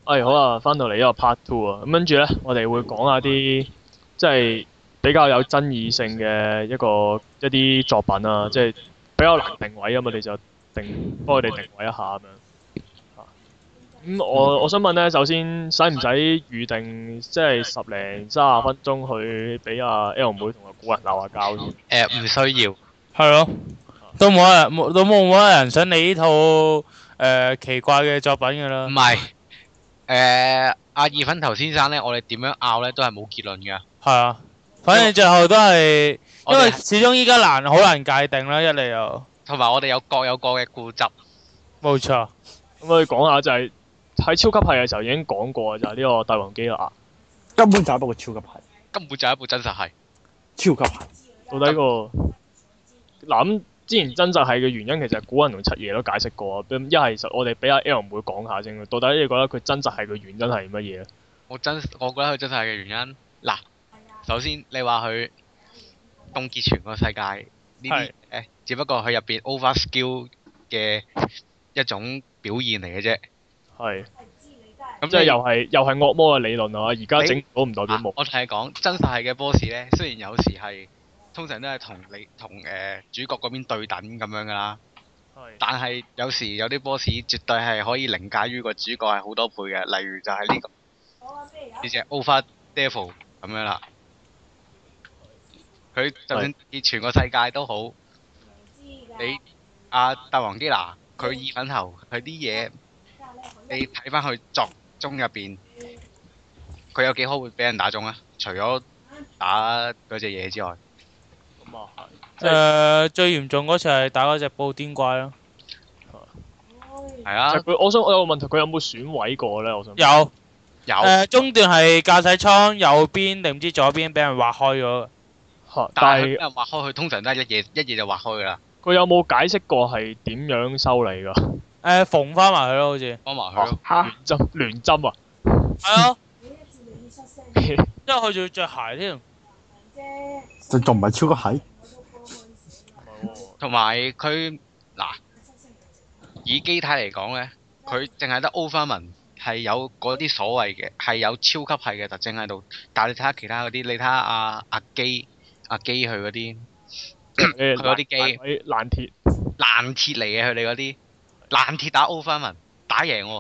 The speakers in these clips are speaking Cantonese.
好啊，翻到嚟呢個 part two 啊，咁跟住咧，我哋會講下啲即係比較有爭議性嘅一啲作品啊，即係比較難定位啊嘛，我哋就幫佢哋定位一下咁樣。啊咁我想問咧，首先使唔使預定即係10零30分鐘去俾阿 L 妹同個古人鬧下交先？ 唔需要。 係咯，都冇乜人想你呢套奇怪嘅作品㗎啦。 唔係，阿二粉頭先生咧，我哋點樣拗咧都係冇結論嘅。 係啊，反正最後都係， 我哋因為始終依家好難界定啦，一嚟又同埋我哋有各有各嘅固執。 冇錯。 咁我哋講下就係喺超級系嘅時候已經講過，就係呢個帝王基亞。 根本就係一部超級系， 根本就係一部真實系。 超級系。 到底嗱咁之前真實係嘅原因，其實古人同七爺都解釋過。咁一係實我哋俾阿 L 妹講下先，到底你覺得佢真實係嘅原因係乜嘢咧？ 我覺得佢真實係嘅原因，嗱，首先你話佢凍結全個世界呢啲只不過佢入邊 over skill 嘅一種表現嚟嘅啫。 係。 咁即係又係惡魔嘅理論啊！而家整到唔代表冇。 我同你講，真實係嘅 boss 咧，雖然有時係通常都係同主角嗰邊對等咁樣噶啦，但係有時有啲 boss 絕對係可以凌駕於個主角係好多倍嘅，例如就係呢隻 Over Devil 咁樣啦。佢就算結全個世界都好，你帝王基拿佢意粉頭，佢啲嘢你睇翻佢作中入邊，佢有幾可會俾人打中啊？除咗打嗰隻嘢之外， 咁啊係。 最嚴重嗰次係打嗰隻布甸怪咯。 係啊。 我有個問題，佢有冇損毀過咧？我想有。中段係駕駛艙右邊定唔知左邊俾人劃開咗。 但係俾人劃開，佢通常都係一嘢就劃開噶啦。 佢有冇解釋過係點樣修理㗎？ 縫翻埋佢咯，好似。 幫埋佢咯。 聯針啊！ 係啊。因為佢仲要着鞋添。 仲唔係超級系？ 同埋佢嗱，以機體嚟講咧，佢淨係得 Overman 係有嗰啲所謂嘅係有超級系嘅特徵喺度，但係你睇下其他嗰啲，你睇下阿基佢嗰啲，佢嗰啲機爛鐵嚟嘅，佢哋嗰啲爛鐵打 Overman 打贏喎。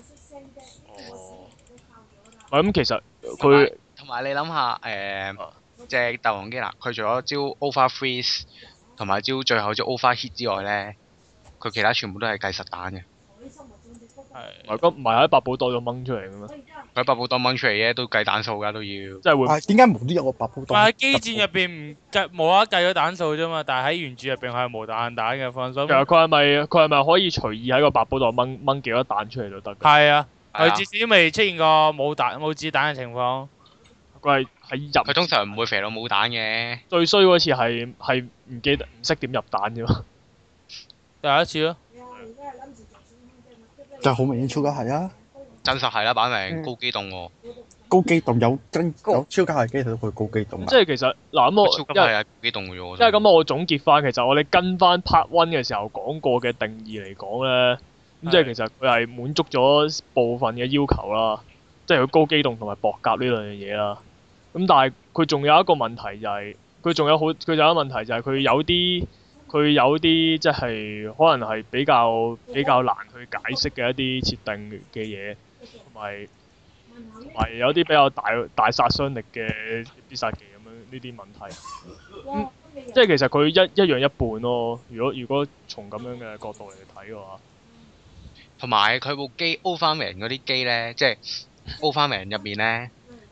咁其實佢同埋你諗下隻帝王基拿，佢除咗招 Over Freeze 同埋招最後招 Over Hit 之外咧，佢其他全部都係計實彈嘅。 唔係喺百寶袋度掹出嚟嘅咩？ 佢百寶袋掹出嚟嘅都計彈數㗎都要。 即係會。 點解無端有個百寶袋？ 喺機戰入邊唔計冇得計咗彈數啫嘛，但係喺原著入邊係無彈嘅，放心。 其實佢係咪可以隨意喺個百寶袋掹幾多彈出嚟都得？ 係啊，佢至少未出現過冇子彈嘅情況。 佢係入。 佢通常唔會肥到冇彈嘅。最衰嗰次係唔記得唔識點入彈啫嘛。 第一次咯。 就好明顯超級系啊！ 真實係啦，擺明高機動喎。 高機動有超級系機體都可以高機動。 即係其實嗱咁我超級係機動嘅啫。 因為咁我總結翻，其實我哋跟翻 Part One 嘅時候講過嘅定義嚟講咧，咁即係其實佢係滿足咗部分嘅要求啦，即係佢高機動同埋薄甲呢兩樣嘢啦。咁但係佢仲有一個問題就係，佢仲有一個問題就係佢有啲即係可能係比較難去解釋嘅一啲設定嘅嘢，同埋有啲比較大殺傷力嘅必殺技咁樣呢啲問題。即係其實佢一樣一半咯。如果從咁樣嘅角度嚟睇嘅話， 同埋佢部機 Overman 嗰啲機咧，即係 Overman 入面咧。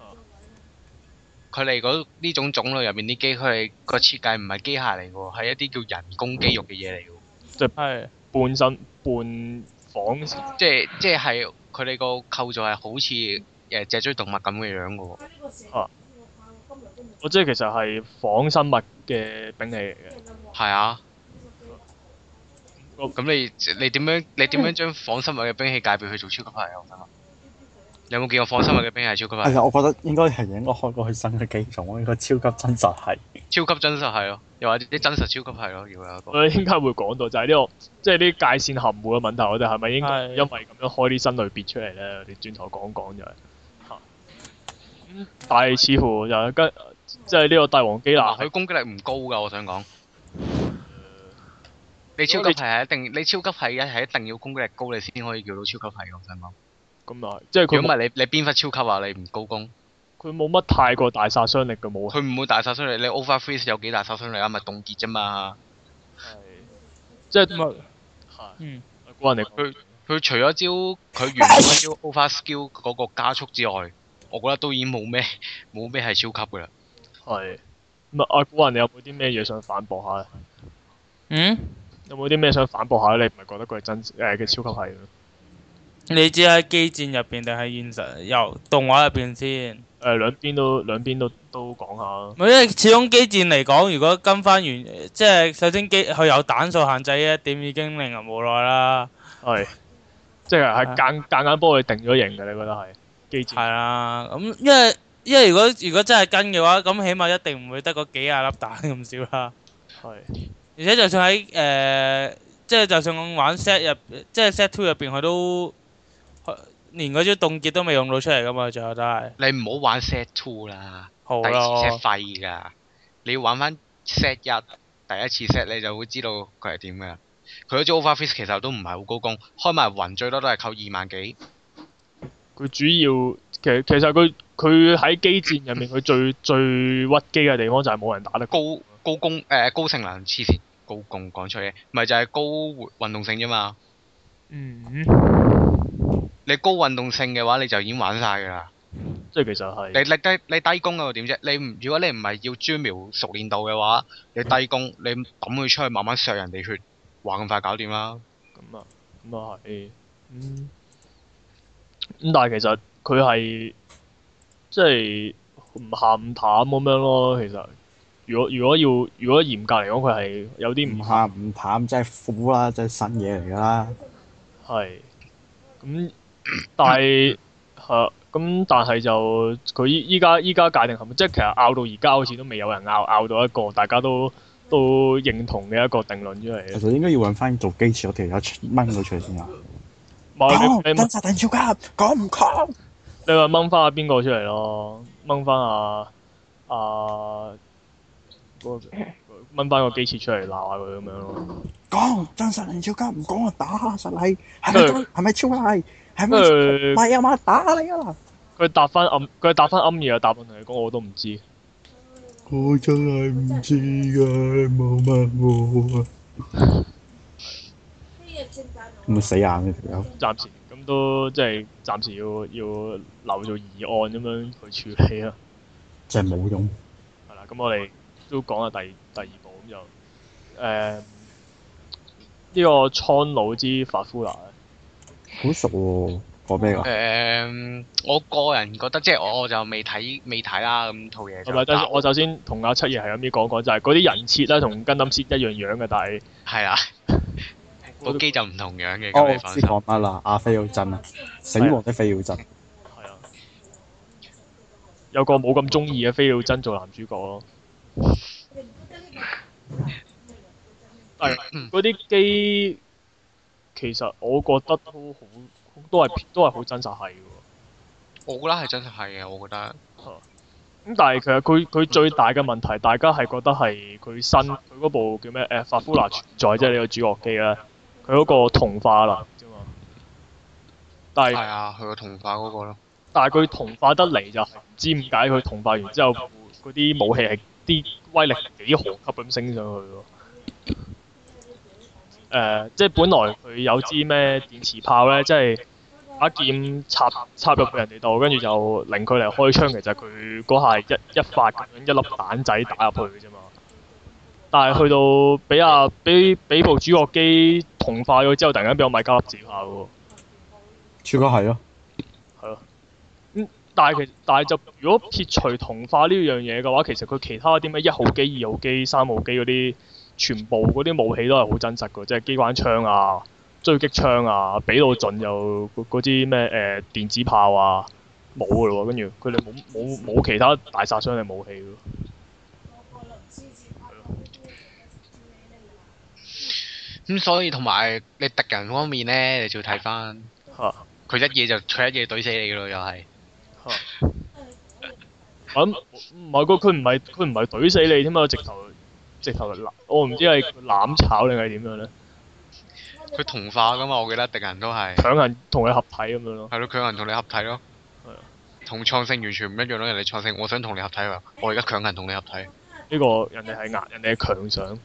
佢哋呢種種類入面啲機，佢哋個設計唔係機械嚟嘅喎，係一啲叫人工肌肉嘅嘢嚟嘅喎。 即係半身半仿， 即係佢哋個構造係好似脊椎動物咁嘅樣嘅喎。 我即係其實係仿生物嘅兵器嚟嘅。 係啊。咁你點樣將仿生物嘅兵器界別去做超級系啊？我想問。有冇見過仿生物嘅兵器係超級系？ 我覺得應該係開過去新嘅機種，應該超級真實係。 超級真實係咯。 又或者啲真實超級係咯，要有一個。 我應該會講到就係呢個，即係啲界線含糊嘅問題，我哋係咪應該係因為咁樣開啲新類別出嚟咧？我哋轉頭講講就係嚇。但係似乎就係跟即係呢個帝王基拿佢攻擊力唔高㗎，我想講。你超級係一定，你超級係係一定要攻擊力高，你先可以叫到超級係㗎，我想講。 咁啊，即係佢如果唔係你邊忽超級啊？你唔高攻， 佢冇乜太過大殺傷力嘅武器。 佢唔會大殺傷力。你 over freeze 有幾大殺傷力啊？咪凍結啫嘛。 係即係咁啊， 係嗯， 估人哋佢除咗招佢原本嗰招 over skill 嗰個加速之外，我覺得都已經冇咩係超級㗎啦。 係咁啊！估人哋有冇啲咩嘢想反駁下咧？ 嗯， 有冇啲咩想反駁下咧？你唔係覺得佢係真嘅超級係咩？ 你知喺機戰入邊定係現實由動畫入邊先？ 兩邊都講下。 因為始終機戰嚟講，如果跟翻原，即係首先佢有彈數限制呢一點已經令人無奈啦。 係，即係夾硬幫佢定咗型嘅，你覺得係機戰？ 係啦，咁因為如果真係跟嘅話，咁起碼一定唔會得嗰幾廿粒彈咁少啦。 係。 而且就算喺即係就算我玩 set 入，即係 set two 入邊，佢都連嗰招凍結都未用到出嚟噶嘛，最後都係。 你唔好玩 set two 啦， 好第二次 set 咯。 廢㗎。你要玩翻 set 一，第一次 set 你就會知道佢係點㗎。佢嗰招 over freeze 其實都唔係好高攻，開埋雲最多都係扣2萬幾。 佢主要其實佢喺機戰入面，佢最屈機嘅地方就係冇人打得高攻高性能黐線，高攻講出嘢，咪就係高運動性啫嘛。 嗯， 你高運動性嘅話，你就已經玩晒㗎啦。 即係其實係你低攻又點啫？如果你唔係要專瞄熟練度嘅話，你低攻你抌佢出去慢慢削人哋血，話咁快搞掂啦。 咁啊係，咁但係其實佢係即係唔鹹唔淡咁樣咯。其實如果嚴格嚟講，佢係有啲唔鹹唔淡，真係苦啦，真係新嘢嚟㗎啦。 係咁，但係係咁，但係就佢依家界定係咪？即係其實拗到而家好似都未有人拗到一個大家都認同嘅一個定論出嚟嘅。 其實應該要揾翻做機設嗰條友掹佢出嚟先啊！ 冇你真實定超級，講唔講？ 你話掹翻阿邊個出嚟咯？掹翻掹翻個機設出嚟鬧下佢咁樣咯。 講真實定超級，唔講我打實你，係咪真？係咪超係？係咪？唔係啊嘛，打你啊！ 佢答翻暗嘢嘅答案同你講，我都唔知。 我真係唔知㗎，冇問我啊！咁死硬嘅條友。 暫時咁都即係暫時要留做疑案咁樣去處理啦。 真係冇用。 係啦，咁我哋都講下第二部咁就呢個蒼老之法夫拿好熟喎，講咩㗎？ 我個人覺得即係我就未睇啦，咁套嘢就。 係咪？等我首先同阿七爺係咁啲講，就係嗰啲人設咧同跟冧設一樣嘅，但係係啊，部機就唔同樣嘅。 哦， 咁你放心。 我知講乜啦，阿菲奧真啊，死亡的菲奧真。 係啊，有個冇咁中意嘅菲奧真做男主角咯。但係嗰啲機其實我覺得都係好真實係嘅喎。 我覺得係真係係嘅，我覺得。 咁但係其實佢最大嘅問題，大家係覺得係佢嗰部叫咩？法夫拿存在即係呢個主角機咧，佢嗰個同化啦啫嘛。但係係啊，佢個同化嗰個咯。 但係佢同化得嚟就唔知點解佢同化完之後嗰啲武器係啲威力幾何級咁升上去喎。即係本來佢有支咩電磁炮咧，即係把劍插入去人哋度，跟住就令佢嚟開槍。其實佢嗰下係一發咁樣一粒彈仔打入去嘅啫嘛。但係去到俾部主角機同化咗之後，突然間俾我買加粒子炮喎。 超級係咯。 係咯。但係就如果撇除同化呢樣嘢嘅話，其實佢其他啲咩1號機、2號機、3號機嗰啲，全部嗰啲武器都係好真實嘅，即係機關槍啊、狙擊槍啊，俾到盡又嗰啲咩電子炮啊冇嘅咯喎，跟住佢哋冇其他大殺傷力武器咯。 咁所以同埋你敵人方面咧，你就要睇翻嚇佢一嘢懟死你噶咯，又係。 嚇。咁唔係佢唔係懟死你添啊！直頭我唔知係攬炒定係點樣咧？ 佢同化噶嘛，我記得敵人都係。 強行同佢合體咁樣咯。 係咯，強行同你合體咯。 係啊。 同創聖完全唔一樣咯，人哋創聖我想同你合體喎，我而家強行同你合體。 呢個人哋係壓，人哋係強想。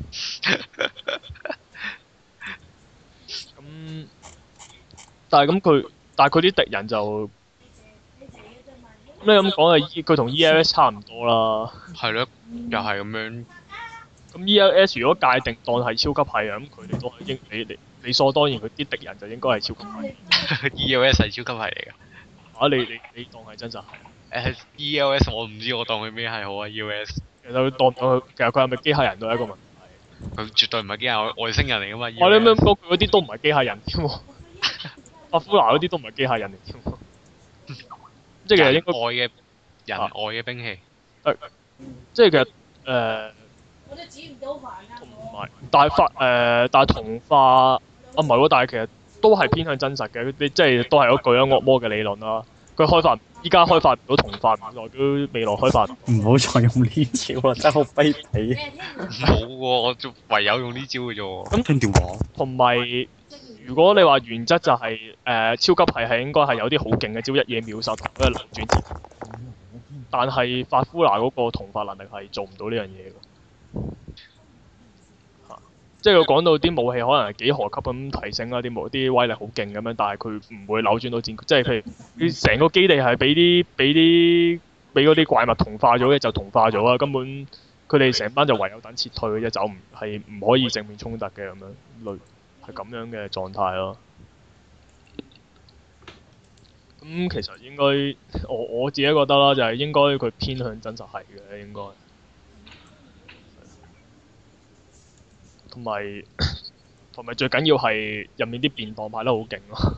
咁，但係佢啲敵人就，咁你咁講係佢同 ELS 差唔多啦。 係咯，又係咁樣。 咁 ELS 如果界定當係超級係啊，咁佢哋都係你理所當然，佢啲敵人就應該係超級係。 ELS 係超級係嚟㗎。 啊！你當係真實係？ ELS 我唔知我當佢咩係好啊 ELS。 其實佢當唔當佢，其實佢係咪機械人都係一個問題。 佢絕對唔係機械外星人嚟㗎嘛。 我哋咁樣講，佢嗰啲都唔係機械人添喎。阿夫拿嗰啲都唔係機械人嚟添喎。即係其實應該人外嘅兵器。 即係其實同埋，但係同化唔係喎，但係其實都係偏向真實嘅。你即係都係嗰句啦，惡魔嘅理論啦。佢依家開發唔到同化，唔代表未來開發。 唔好再用呢招啦，真係好卑鄙。 冇喎，我就唯有用呢招嘅啫喎。 咁聽電話。 同埋，如果你話原則就係、超級係應該係有啲好勁嘅招，一嘢秒殺同嗰個流轉。但係法夫拿嗰個同化能力係做唔到呢樣嘢㗎。即係佢講到啲武器可能係幾何級咁提升啦，啲威力好勁咁樣，但係佢唔會扭轉到戰局。即係譬如佢成個基地係俾嗰啲怪物同化咗嘅，就同化咗啦。根本佢哋成班就唯有等撤退嘅啫，走係唔可以正面衝突嘅咁樣，類係咁樣嘅狀態咯。咁其實應該我自己覺得啦，就係應該佢偏向真實係嘅應該。同埋最緊要係入面啲便當派得好勁咯。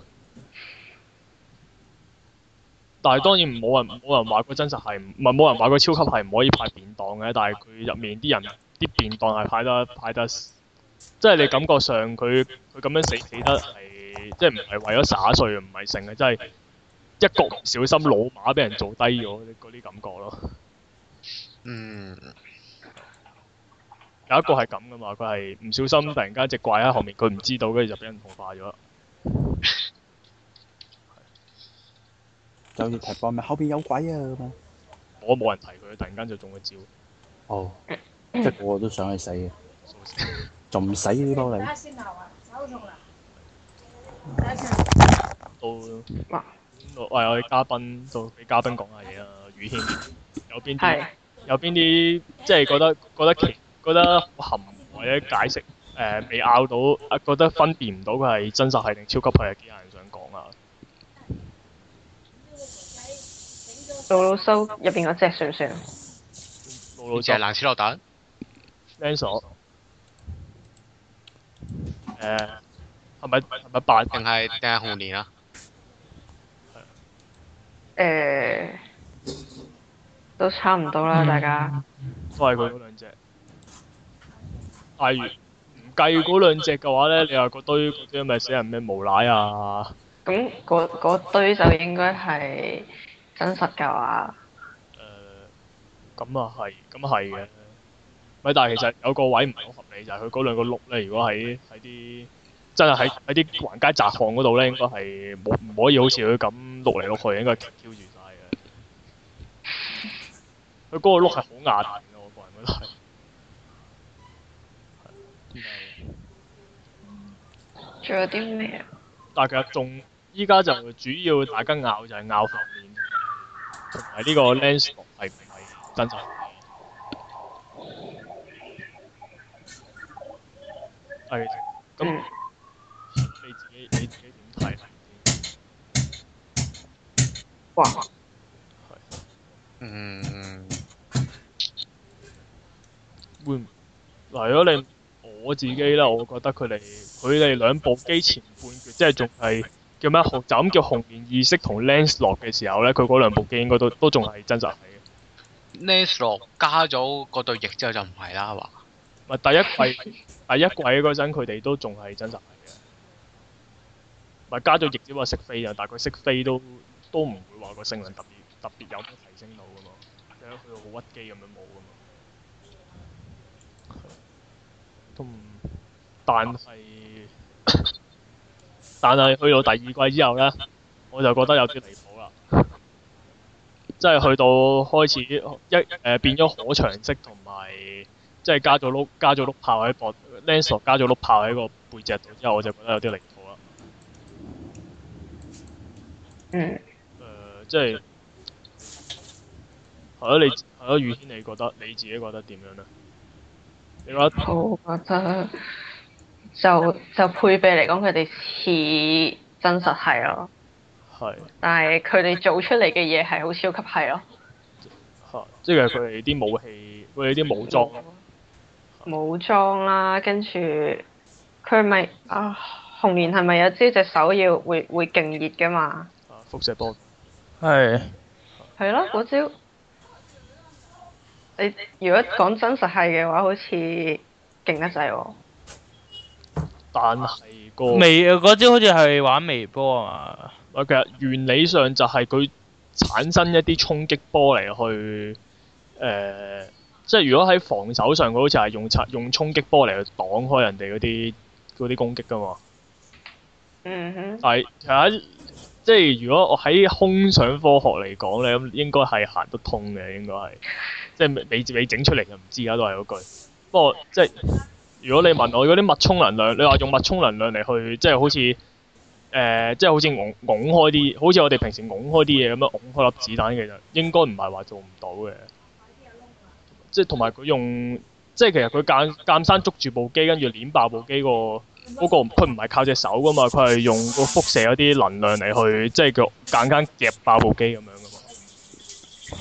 但係當然冇人話佢真實係唔係冇人話佢超級係唔可以派便當嘅，但係佢入面啲人啲便當係派得，即係你感覺上佢咁樣死得係即係唔係為咗灑碎唔係成嘅，即係一個唔小心老馬俾人做低咗嗰啲感覺咯。 嗯。 有一個係咁噶嘛，佢係唔小心突然間隻怪喺後面，佢唔知道，跟住就俾人同化咗。 就好似踢波咪後邊有鬼啊咁樣。 我冇人提佢，突然間就中咗招。 哦，即係個個都想去死嘅，仲唔死呢波你？ 到喂，我哋嘉賓到俾嘉賓講下嘢啦，宇軒有邊啲即係覺得好含或者解釋未拗到覺得分辨唔到佢係真實係定超級係嘅機械人想講啊？ 魯魯修入邊嗰隻算唔算？ 老就係蘭斯洛特。 Lancelot 係咪白定係紅蓮啊？ 都差唔多啦，大家。 都係佢嗰兩隻。但係唔計嗰兩隻嘅話咧，你話嗰堆嗰啲咪死人咩無賴啊？ 咁嗰堆就應該係真實㗎話。 咁啊係嘅。咪但係其實有個位唔係好合理，就係佢嗰兩個碌咧，如果喺啲真係喺啲橫街窄巷嗰度咧，應該係唔可以好似佢咁碌嚟碌去，應該係挑住晒嘅。佢嗰個碌係好壓彈嘅，我個人覺得係。 仲有啲咩？ 但係其實依家就主要大家拗就係拗後面，同埋呢個 Lancelot 係唔係真實？係咁，你自己點睇？ 哇！ 會嗱，如果你我自己啦，我覺得佢哋兩部機前半決，即係仲係叫咩？就咁叫紅蓮意識同 Lancelot 嘅時候咧，佢嗰兩部機應該都仲係真實係嘅。 Lancelot 加咗嗰對翼之後就唔係啦，係嘛？ 咪第一季嗰陣佢哋都仲係真實係嘅，咪加咗翼只話識飛啊，但係佢識飛都唔會話個性能特別有咩提升到噶嘛，即係佢好屈機咁樣冇噶嘛。都唔，但係去到第二季之後呢，我就覺得有啲離譜啦。即係去到開始變咗可長式同埋，即係加咗碌炮喺膊 Lancelot 加咗碌炮喺個背脊度之後，我就覺得有啲離譜啦。 嗯， 即係係咯，宇軒你自己覺得點樣呢？你覺得我覺得就配備嚟講，佢哋似真實係咯， 係但係佢哋做出嚟嘅嘢係好超級係咯。 即係佢哋啲武器，佢哋啲武裝， 武裝啦，跟住佢咪啊紅蓮係咪有招隻手要會勁熱㗎嘛？ 輻射波。 係係咯，嗰招你如果講真實係嘅話，好似勁得滯喎。 但係嗰招好似係玩微波啊嘛。 其實原理上就係佢產生一啲衝擊波嚟去即係如果喺防守上，佢好似係用衝擊波嚟去擋開人哋嗰啲攻擊㗎嘛。 嗯哼。 但係其實即係如果我喺空想科學嚟講咧，咁應該係行得通嘅，應該係即係未整出嚟就唔知啦，都係嗰句。不過即係如果你問我嗰啲脈衝能量，你話用脈衝能量嚟去即係好似即係好似拱開啲，好似我哋平時拱開啲嘢咁樣拱開粒子彈，其實應該唔係話做唔到嘅。即係同埋佢用，即係其實佢間生捉住部機，跟住攣爆部機嗰個，佢唔係靠隻手噶嘛，佢係用個輻射嗰啲能量嚟去，即係佢間夾爆部機咁樣噶嘛。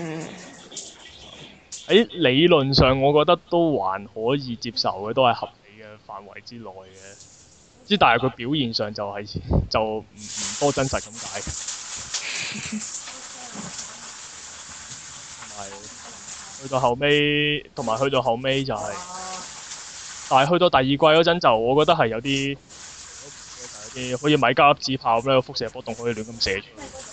喺理論上，我覺得都還可以接受嘅，都係合理嘅範圍之內嘅。之但係佢表現上就唔多真實咁解。去到後尾就係、但係去到第二季嗰陣就，我覺得係有啲好似米加粒子炮咁樣，個輻射波動可以亂咁射出去，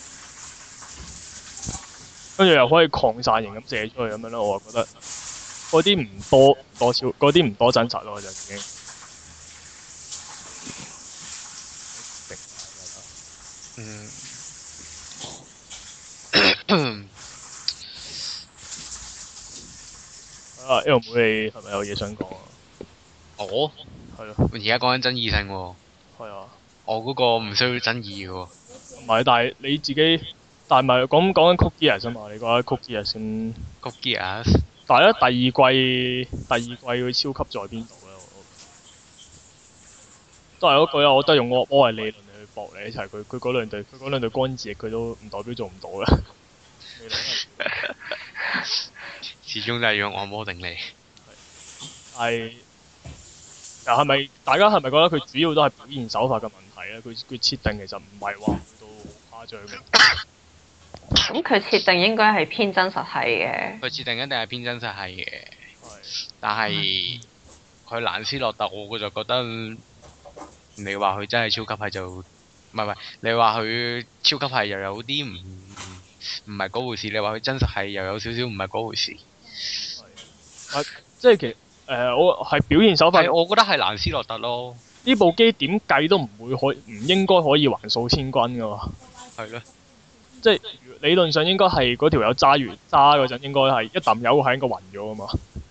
跟住又可以擴散型咁射出去咁樣咯。我覺得嗰啲唔多真實咯，就已經。L 妹你係咪有嘢想講啊？ 我係咯。 而家講緊爭議性喎。 係啊。 我嗰個唔需要爭議嘅喎。 唔係，但係你自己，但係咪講緊 Code Geass 啊嘛？你覺得 Code Geass 先 ？Code Geass。 但係咧第二季佢超級在邊度咧？都係嗰句啊！我都係用我係理論嚟去駁你一齊。佢嗰兩對光子佢都唔代表做唔到嘅。 始終都係用按摩定理。 係。但係咪大家係咪覺得佢主要都係表現手法嘅問題咧？佢設定其實唔係話到好誇張嘅。 咁佢設定應該係偏真實係嘅。 佢設定一定係偏真實係嘅。但係佢蘭斯洛特，我就覺得你話佢真係超級係就唔係，你話佢超級係又有啲唔係嗰回事，你話佢真實係又有少少唔係嗰回事。 即係其實我係表現手法。 我覺得係蘭斯洛特咯。 呢部機點計都唔應該可以橫掃千軍噶嘛。 係咯。即係理論上應該係嗰條友揸嗰陣，應該係一啖油係應該暈咗噶嘛。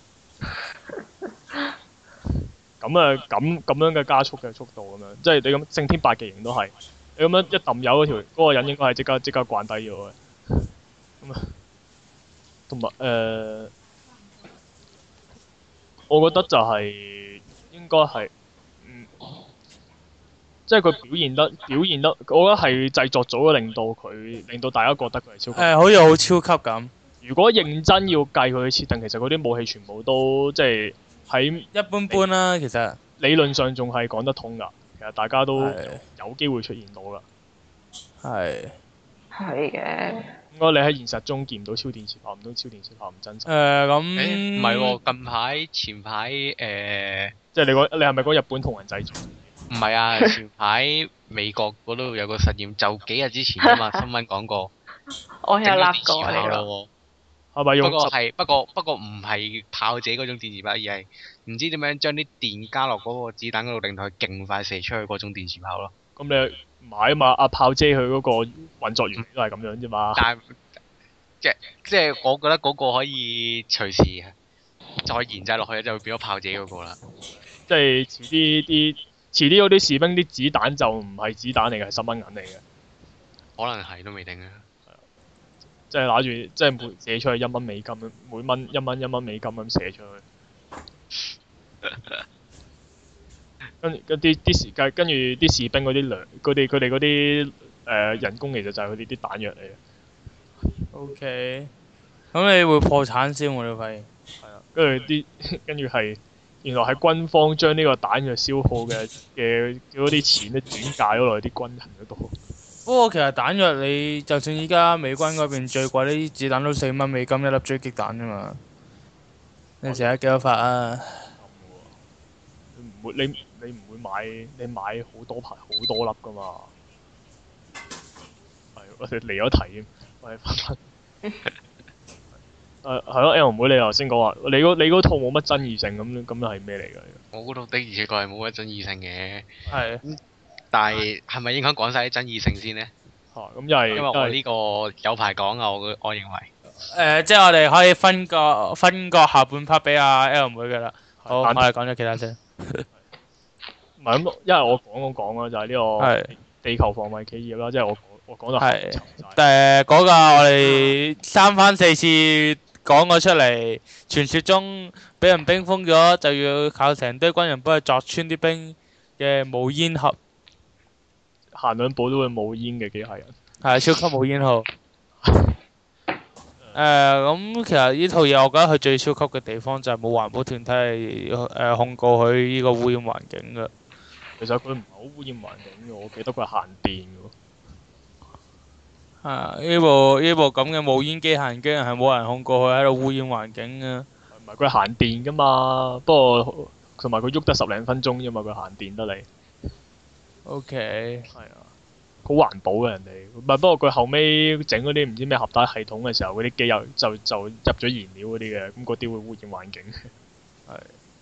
咁樣嘅加速嘅速度咁樣，即係你咁聖天八極形都係，你咁樣一啖油嗰個人應該係即刻慣低咗嘅。咁啊，同埋我覺得就係應該係，即係佢表現得，我覺得係製作組令到大家覺得佢係超級。 好似好超級咁。 如果認真要計佢嘅設定，其實嗰啲武器全部都即係喺一般般啦，其實。 理論上仲係講得通㗎，其實大家都有機會出現到㗎。 係。 係嘅。 應該你喺現實中見唔到超電磁炮，唔通超電磁炮唔真實？ 咁唔係喎，前排即係你係咪講日本同人製造？ 唔係啊，前排美國嗰度有個實驗，就幾日之前啫嘛，新聞講過， 我有整咗立電磁炮過呢個。 咯係咪喎。 用不過唔係炮自己嗰種電磁炮，而係唔知點樣將啲電加落嗰個子彈嗰度，令到佢勁快射出去嗰種電磁炮咯。 咁你唔係啊嘛？阿炮姐佢嗰個運作原理都係咁樣啫嘛。 但係即係我覺得嗰個可以隨時再研製落去，就會變咗炮自己嗰個啦。 即係遲啲嗰啲士兵啲子彈就唔係子彈嚟嘅，係10蚊銀嚟嘅。 可能係都未定啊。 即係拿住，即係每射出去1蚊美金，每蚊1蚊美金咁射出去。跟住啲士兵嗰啲糧，佢哋嗰啲人工其實就係佢哋啲彈藥嚟嘅。 OK，咁你會破產先喎？你發現？ 係啊，跟住係原來係軍方將呢個彈藥消耗嘅嗰啲錢咧轉嫁咗落去啲軍人嗰度。 不過其實彈藥你就算依家美軍嗰邊最貴啲子彈都4蚊美金一粒狙擊彈啫嘛。你成日幾多發啊？ 你唔會買好多粒噶嘛？係，我哋離咗題添，我哋翻返。係咯，L 妹你頭先講話，你嗰套冇乜爭議性咁係咩嚟㗎？ 我嗰度的而且確係冇乜爭議性嘅。 係。 但係咪應該講晒啲爭議性先呢？ 咁又係因為我呢個有排講啊，我認為。 即係我哋可以分個下半 part 俾阿 L 妹㗎啦。好，我哋講咗其他先。 唔係咁，因為我講啦，就係呢個地球防衛企業啦，即係我講到係。嗰個我哋3番4次講咗出嚟，傳說中俾人冰封咗，就要靠成堆軍人幫佢鑿穿啲冰嘅冇煙盒。 行兩步都會冇煙嘅機械人。 係超級冇煙號。咁其實呢套嘢我覺得佢最超級嘅地方就係冇環保團體係控告佢呢個污染環境㗎。 其實佢唔係好污染環境嘅，我記得佢係限電嘅喎。 呢部咁嘅冇煙機械人竟然係冇人控告佢喺度污染環境嘅。 唔係佢係限電㗎嘛，不過同埋佢喐得10零分鐘啫嘛，佢限電得嚟。 OK。 係啊。好環保嘅人哋，唔係不過佢後尾整嗰啲唔知咩合帶系統嘅時候，嗰啲機油就入咗燃料嗰啲嘅，咁嗰啲會污染環境。係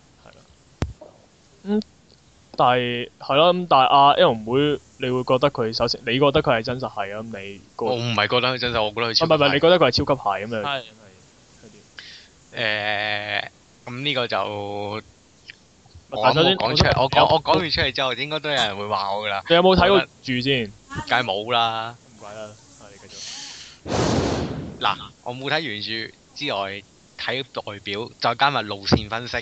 啦。但係阿 L 妹，你會覺得佢首先，你覺得佢係真實係啊？咁你我唔係覺得佢真實，我覺得佢超級。 唔係，你覺得佢係超級係咁樣？ 係。咁呢個就我首先講出嚟，我講完出嚟之後，應該都有人會話我㗎啦。 你有冇睇過住先？ 梗係冇啦。 唔怪啦，你繼續。 嗱，我冇睇原著之外，睇外表，再加埋路線分析。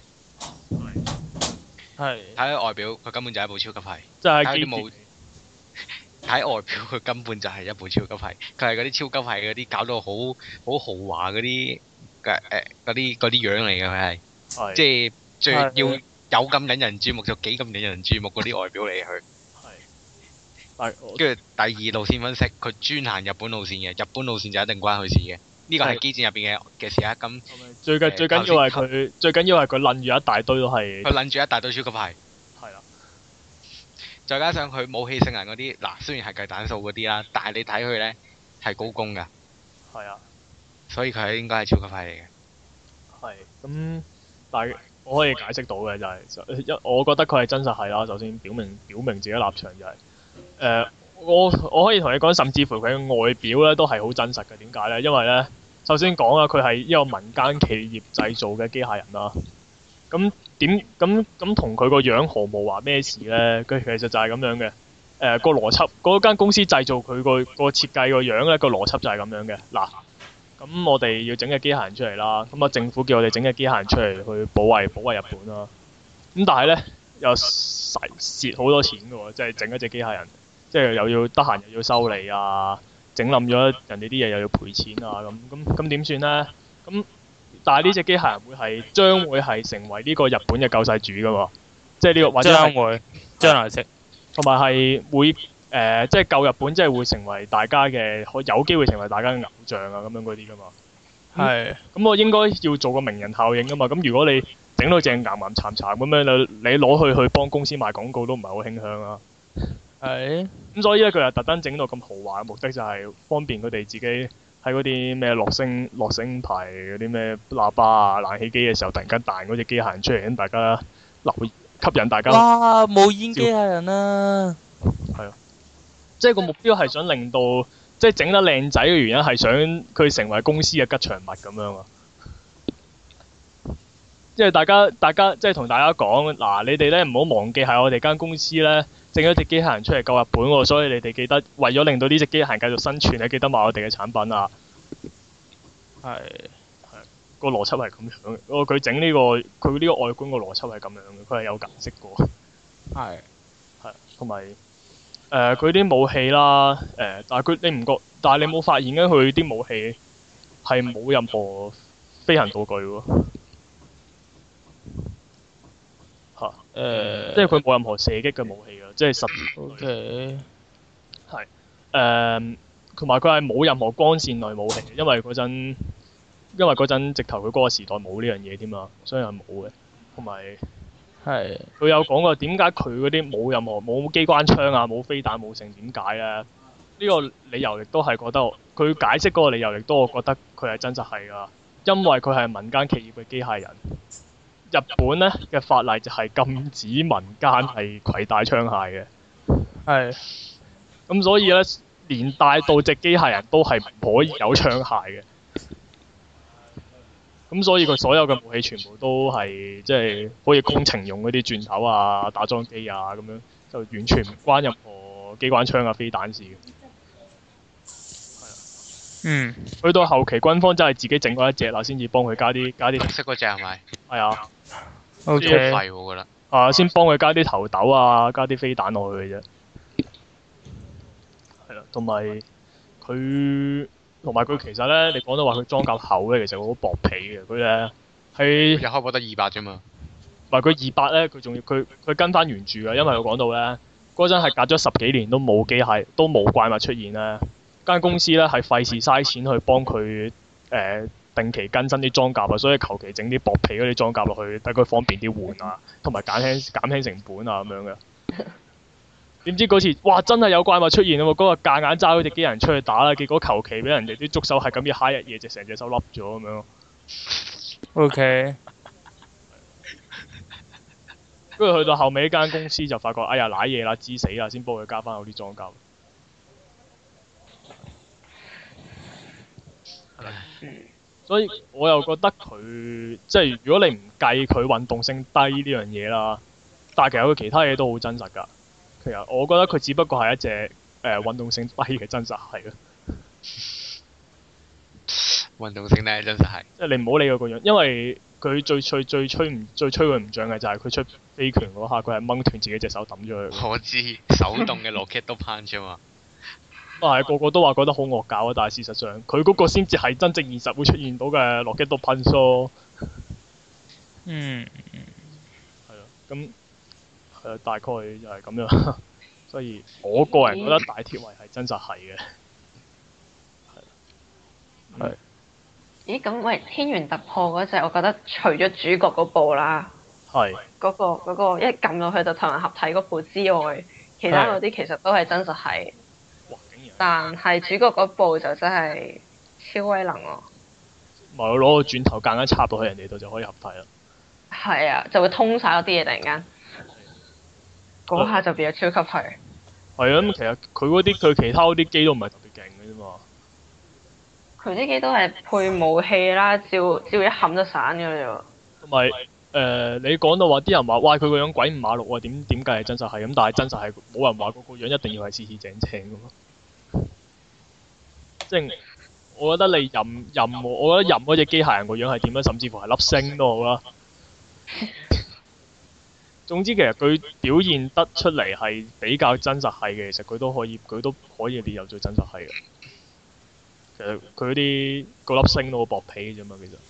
係。 睇外表，佢根本就係一部超級係。 即係睇外表，佢根本就係一部超級係。佢係嗰啲超級係嗰啲搞到好豪華嗰啲嗰啲樣嚟嘅，佢係。 係。 即係最要有咁引人注目就幾咁引人注目嗰啲外表嚟佢。 係。 跟住第二路線分析，佢專行日本路線嘅，日本路線就一定關佢事嘅。呢個係機戰入邊嘅事啊。咁最緊要係佢撚住一大堆都係。 佢撚住一大堆超級係。 係啦。 再加上佢武器性能嗰啲，嗱雖然係計彈數嗰啲啦，但係你睇佢咧係高攻㗎。 係啊。所以佢係應該係超級係嚟嘅。 係。咁，但係我可以解釋到嘅就係，我覺得佢係真實係啦。首先表明自己立場就係。我可以同你講，甚至乎佢嘅外表咧都係好真實嘅。點解咧？因為咧，首先講啊，佢係一個民間企業製造嘅機械人啦。咁同佢個樣毫無話咩事咧？佢其實就係咁樣嘅。個邏輯，嗰間公司製造佢個設計個樣咧，個邏輯就係咁樣嘅。嗱，咁我哋要整嘅機械人出嚟啦。咁啊，政府叫我哋整嘅機械人出嚟去保衛日本啦。咁但係咧，又蝕好多錢嘅喎，即係整一隻機械人，即係又要得閒又要修理啊，整冧咗人哋啲嘢又要賠錢啊，咁點算呢？咁但係呢隻機械人將會係成為呢個日本嘅救世主㗎喎，即係呢個或者將來識，同埋係會即係救日本，即係會成為大家嘅，有機會成為大家嘅偶像啊咁樣嗰啲噶嘛。 係咁我應該要做個名人效應噶嘛。咁如果你整到正岩岩慘慘咁樣，你攞去幫公司賣廣告都唔係好傾向啊。 係咁所以咧，佢又特登整到咁豪華嘅目的就係方便佢哋自己喺嗰啲咩樂聲牌嗰啲咩喇叭啊、冷氣機嘅時候，突然間彈嗰隻機械人出嚟，咁大家吸引大家。 哇！無煙機械人啊！ 即係個目標係想令到，即係整得靚仔嘅原因係想佢成為公司嘅吉祥物咁樣啊！即係大家即係同大家講，嗱，你哋咧唔好忘記係我哋間公司咧整咗隻機械人出嚟救日本喎，所以你哋記得為咗令到呢隻機械人繼續生存，你記得買我哋嘅產品啊！ 係個邏輯係咁樣嘅，佢整呢個佢呢個外觀個邏輯係咁樣嘅，佢係有解釋過。 係同埋佢啲武器啦，但係你唔覺，但係你冇發現嘅佢啲武器係冇任何飛行道具喎。即係佢冇任何射擊嘅武器㗎，即係實。 OK 同埋佢係冇任何光線類武器，因為嗰陣直頭佢嗰個時代冇呢樣嘢添嘛，所以係冇嘅。同埋係佢有講過點解佢嗰啲冇機關槍啊、冇飛彈、冇剩點解咧？呢個理由亦都係覺得佢解釋嗰個理由亦都我覺得佢係真實係㗎，因為佢係民間企業嘅機械人。日本咧嘅法例就係禁止民間係攜帶槍械嘅。 係咁所以咧，連帶到隻機械人都係唔可以有槍械嘅。咁所以佢所有嘅武器全部都係即係好似工程用嗰啲鑽頭啊、打樁機啊咁樣，就完全唔關任何機關槍啊、飛彈事嘅。 嗯去到後期軍方真係自己整過一隻啦，先至幫佢加啲綠色嗰只係咪？ 係啊， OK 廢我覺得。 先幫佢加啲頭豆啊，加啲飛彈落去嘅啫。係啦，同埋佢其實咧，你講到話佢裝甲厚咧，其實好薄皮嘅。佢咧係一開波得200啫嘛。 唔係佢200咧，佢仲要佢跟翻原著嘅，因為佢講到咧嗰陣係隔咗10幾年都冇機械都冇怪物出現咧，間公司咧係費事嘥錢去幫佢定期更新啲裝甲啊，所以求其整啲薄皮嗰啲裝甲落去，等佢方便啲換啊，同埋減輕成本啊咁樣嘅。點知嗰次，哇！真係有怪物出現啊！嗰個夾硬揸嗰隻機人出去打啦，結果求其俾人哋啲觸手係咁一揩一嘢，就成隻手笠咗咁樣。 OK 跟住去到後尾間公司就發覺，哎呀賴嘢啦，知死啦，先幫佢加翻嗰啲裝甲。所以我又覺得佢即係如果你唔計佢運動性低呢樣嘢啦，但係其實佢其他嘢都好真實㗎。其實我覺得佢只不過係一隻運動性低嘅真實係咯。 運動性咧真實係。 即係你唔好理佢個樣，因為佢最吹佢唔脹嘅就係佢出飛拳嗰下，佢係掹斷自己隻手抌咗佢。 我知手動嘅 rocket 都 punch 嘛。 但係個個都話覺得好惡搞啊，但係事實上佢嗰個先至係真正現實會出現到嘅洛基多噴梭。 嗯係啊，咁係啊，大概就係咁樣。所以我個人覺得大鐵圍係真實係嘅。係。 咦，咁喂，天元突破嗰隻，我覺得除咗主角嗰部啦， 係。 嗰個一撳落去就同人合體嗰部之外，其他嗰啲其實都係真實係。 哇！竟然。 但係主角嗰部就真係超威能喎。 咪我攞個轉頭夾硬插到去人哋度就可以合體啦。 係啊，就會通晒嗰啲嘢突然間，嗰下就變咗超級係。 係啊，咁其實佢其他嗰啲機都唔係特別勁嘅啫嘛。 佢啲機都係配武器啦，照一冚就散㗎啦喎。 同埋你講到話啲人話，哇佢個樣鬼五馬六喎，點計係真實係咁？但係真實係冇人話嗰個樣一定要係四四正正㗎嘛。即係我覺得你我覺得任嗰隻機械人個樣係點樣，甚至乎係粒星都好啦。總之其實佢表現得出嚟係比較真實係嘅，其實佢都可以列入最真實係嘅。其實佢嗰粒星都好薄皮嘅啫嘛，其實。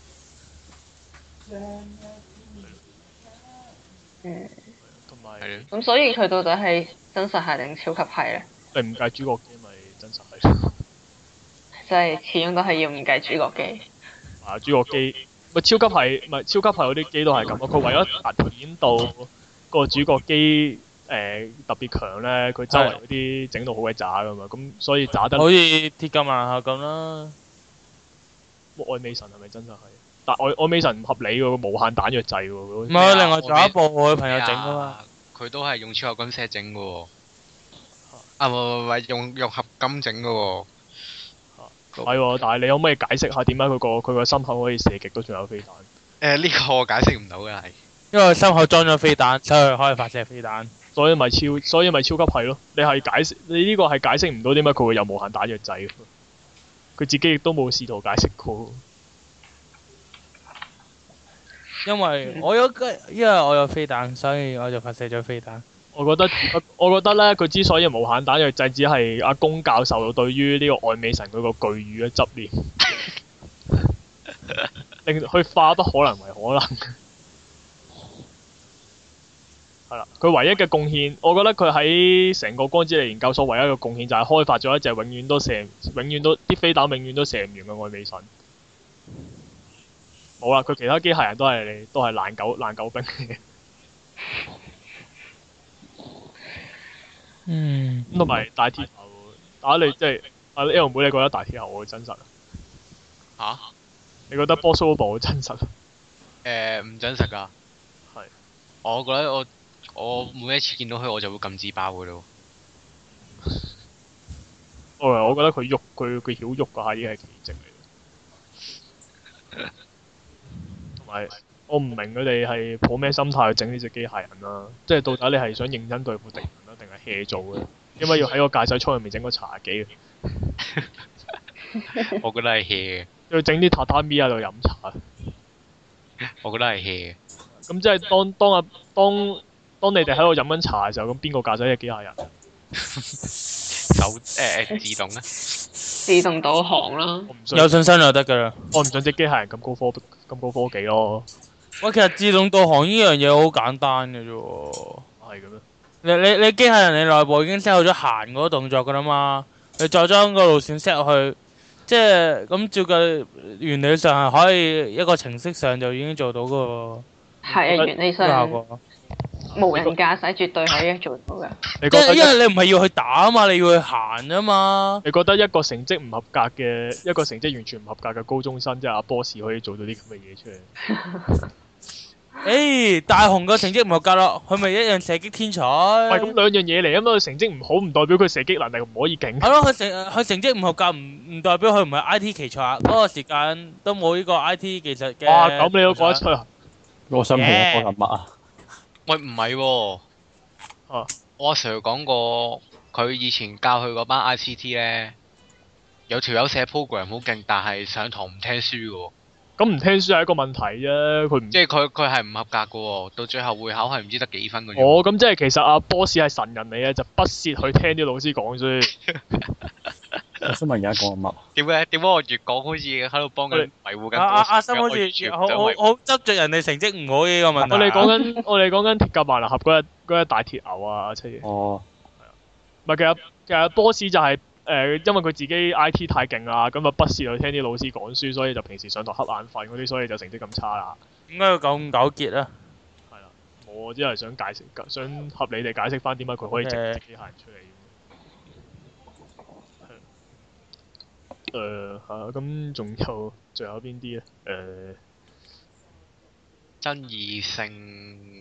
同埋。 咁所以佢到底係真實係定超級係咧？ 你唔計主角機咪真實係。 即係始終都係要唔計主角機。 啊，主角機咪超級係咪超級係嗰啲機都係咁咯？佢為咗突顯到個主角機特別強咧，佢周圍嗰啲整到好鬼渣噶嘛，咁所以渣得。 好似鐵甲萬客咁啦。 愛美神係咪真實係？但愛美神唔合理喎，無限彈藥掣喎。 唔係，另外仲有一部我朋友整噶嘛。 佢都係用超合金石整嘅喎。啊，唔用合金整嘅喎。 係喎，但係你可唔可以解釋下點解佢個心口可以射極都仲有飛彈？ 呢個我解釋唔到嘅係。 因為心口裝咗飛彈，所以可以發射飛彈。 所以咪超級係咯。你呢個係解釋唔到點解佢會有無限彈藥掣嘅。佢自己亦都冇試圖解釋過。 因為我有飛彈，所以我就發射咗飛彈。 我覺得咧，佢之所以無限彈藥掣，只係阿宮教授對於呢個愛美神佢個巨乳嘅執念，令佢化不可能為可能。係啦，佢唯一嘅貢獻，我覺得佢喺成個光之力研究所唯一嘅貢獻就係開發咗一隻永遠都啲飛彈永遠都射唔完嘅愛美神。冇啦，佢其他機械人都係爛狗兵嚟嘅。咁同埋大鐵頭，你即係阿 L 妹，你覺得大鐵頭好真實啊？你覺得 Boss Robo 好真實啊？ 唔真實㗎。 係。 我覺得我每一次見到佢我就會撳自爆㗎咯。 我覺得佢曉喐嗰下已經係奇蹟嚟嘅。同埋我唔明佢哋係抱咩心態去整呢隻機械人啦？即係到底你係想認真對付敵人啦，定係 hea 做嘅？因為要喺個駕駛艙入面整個茶幾嘅。 我覺得係 hea 嘅。 要整啲榻榻米喺度飲茶。 我覺得係 hea 嘅。 咁即係當你哋喺度飲緊茶嘅時候，咁邊個駕駛隻機械人？ 自動啊！ 自動導航啦。 有信心就得㗎啦。 我唔想隻機械人咁高科技咯。 喂，其實自動導航呢樣嘢好簡單嘅啫喎。 係嘅咩？ 你機械人你內部已經 set 好咗行嗰個動作㗎啦嘛，你再將個路線 set 落去，即係咁照計原理上係可以一個程式上就已經做到個。 係啊，原理上無人駕駛絕對可以做到㗎。 即係因為你唔係要去打啊嘛，你要去行啊嘛。 你覺得一個成績唔合格嘅一個成績完全唔合格嘅高中生，即係阿 boss 可以做到啲咁嘅嘢出嚟？ 大雄個成績唔合格咯，佢咪一樣射擊天才。 喂，咁兩樣嘢嚟啊嘛，佢成績唔好唔代表佢射擊能力唔可以勁。 係咯，佢成績唔合格唔代表佢唔係 IT 奇才啊。嗰個時間都冇呢個 IT 技術嘅。 哇，咁你都講得出啊？ 我想問我講緊乜啊？ 喂，唔係喎。我阿 Sir 講過，佢以前教佢嗰班 ICT 咧，有條友寫 program 好勁，但係上堂唔聽書嘅喎。 咁唔聽書係一個問題啫，佢唔即係佢係唔合格嘅喎，到最後會考係唔知得幾分嘅啫。 哦，咁即係其實阿 boss 係神人嚟嘅，就不屑去聽啲老師講書。 我想問而家講緊乜？ 點解我越講好似喺度幫緊維護緊？ 阿心好似好執着人哋成績唔好呢個問題。 我哋講緊鐵甲萬能俠嗰隻大鐵牛啊，七爺。 哦。 唔係其實 boss 就係因為佢自己 IT 太勁啦，咁啊不屑去聽啲老師講書，所以就平時上堂瞌眼瞓嗰啲，所以就成績咁差啦。 點解要咁糾結啊？ 係啦，我只係想合理地解釋翻點解佢可以整隻機械人出嚟。咁仲有邊啲咧？ 爭議性，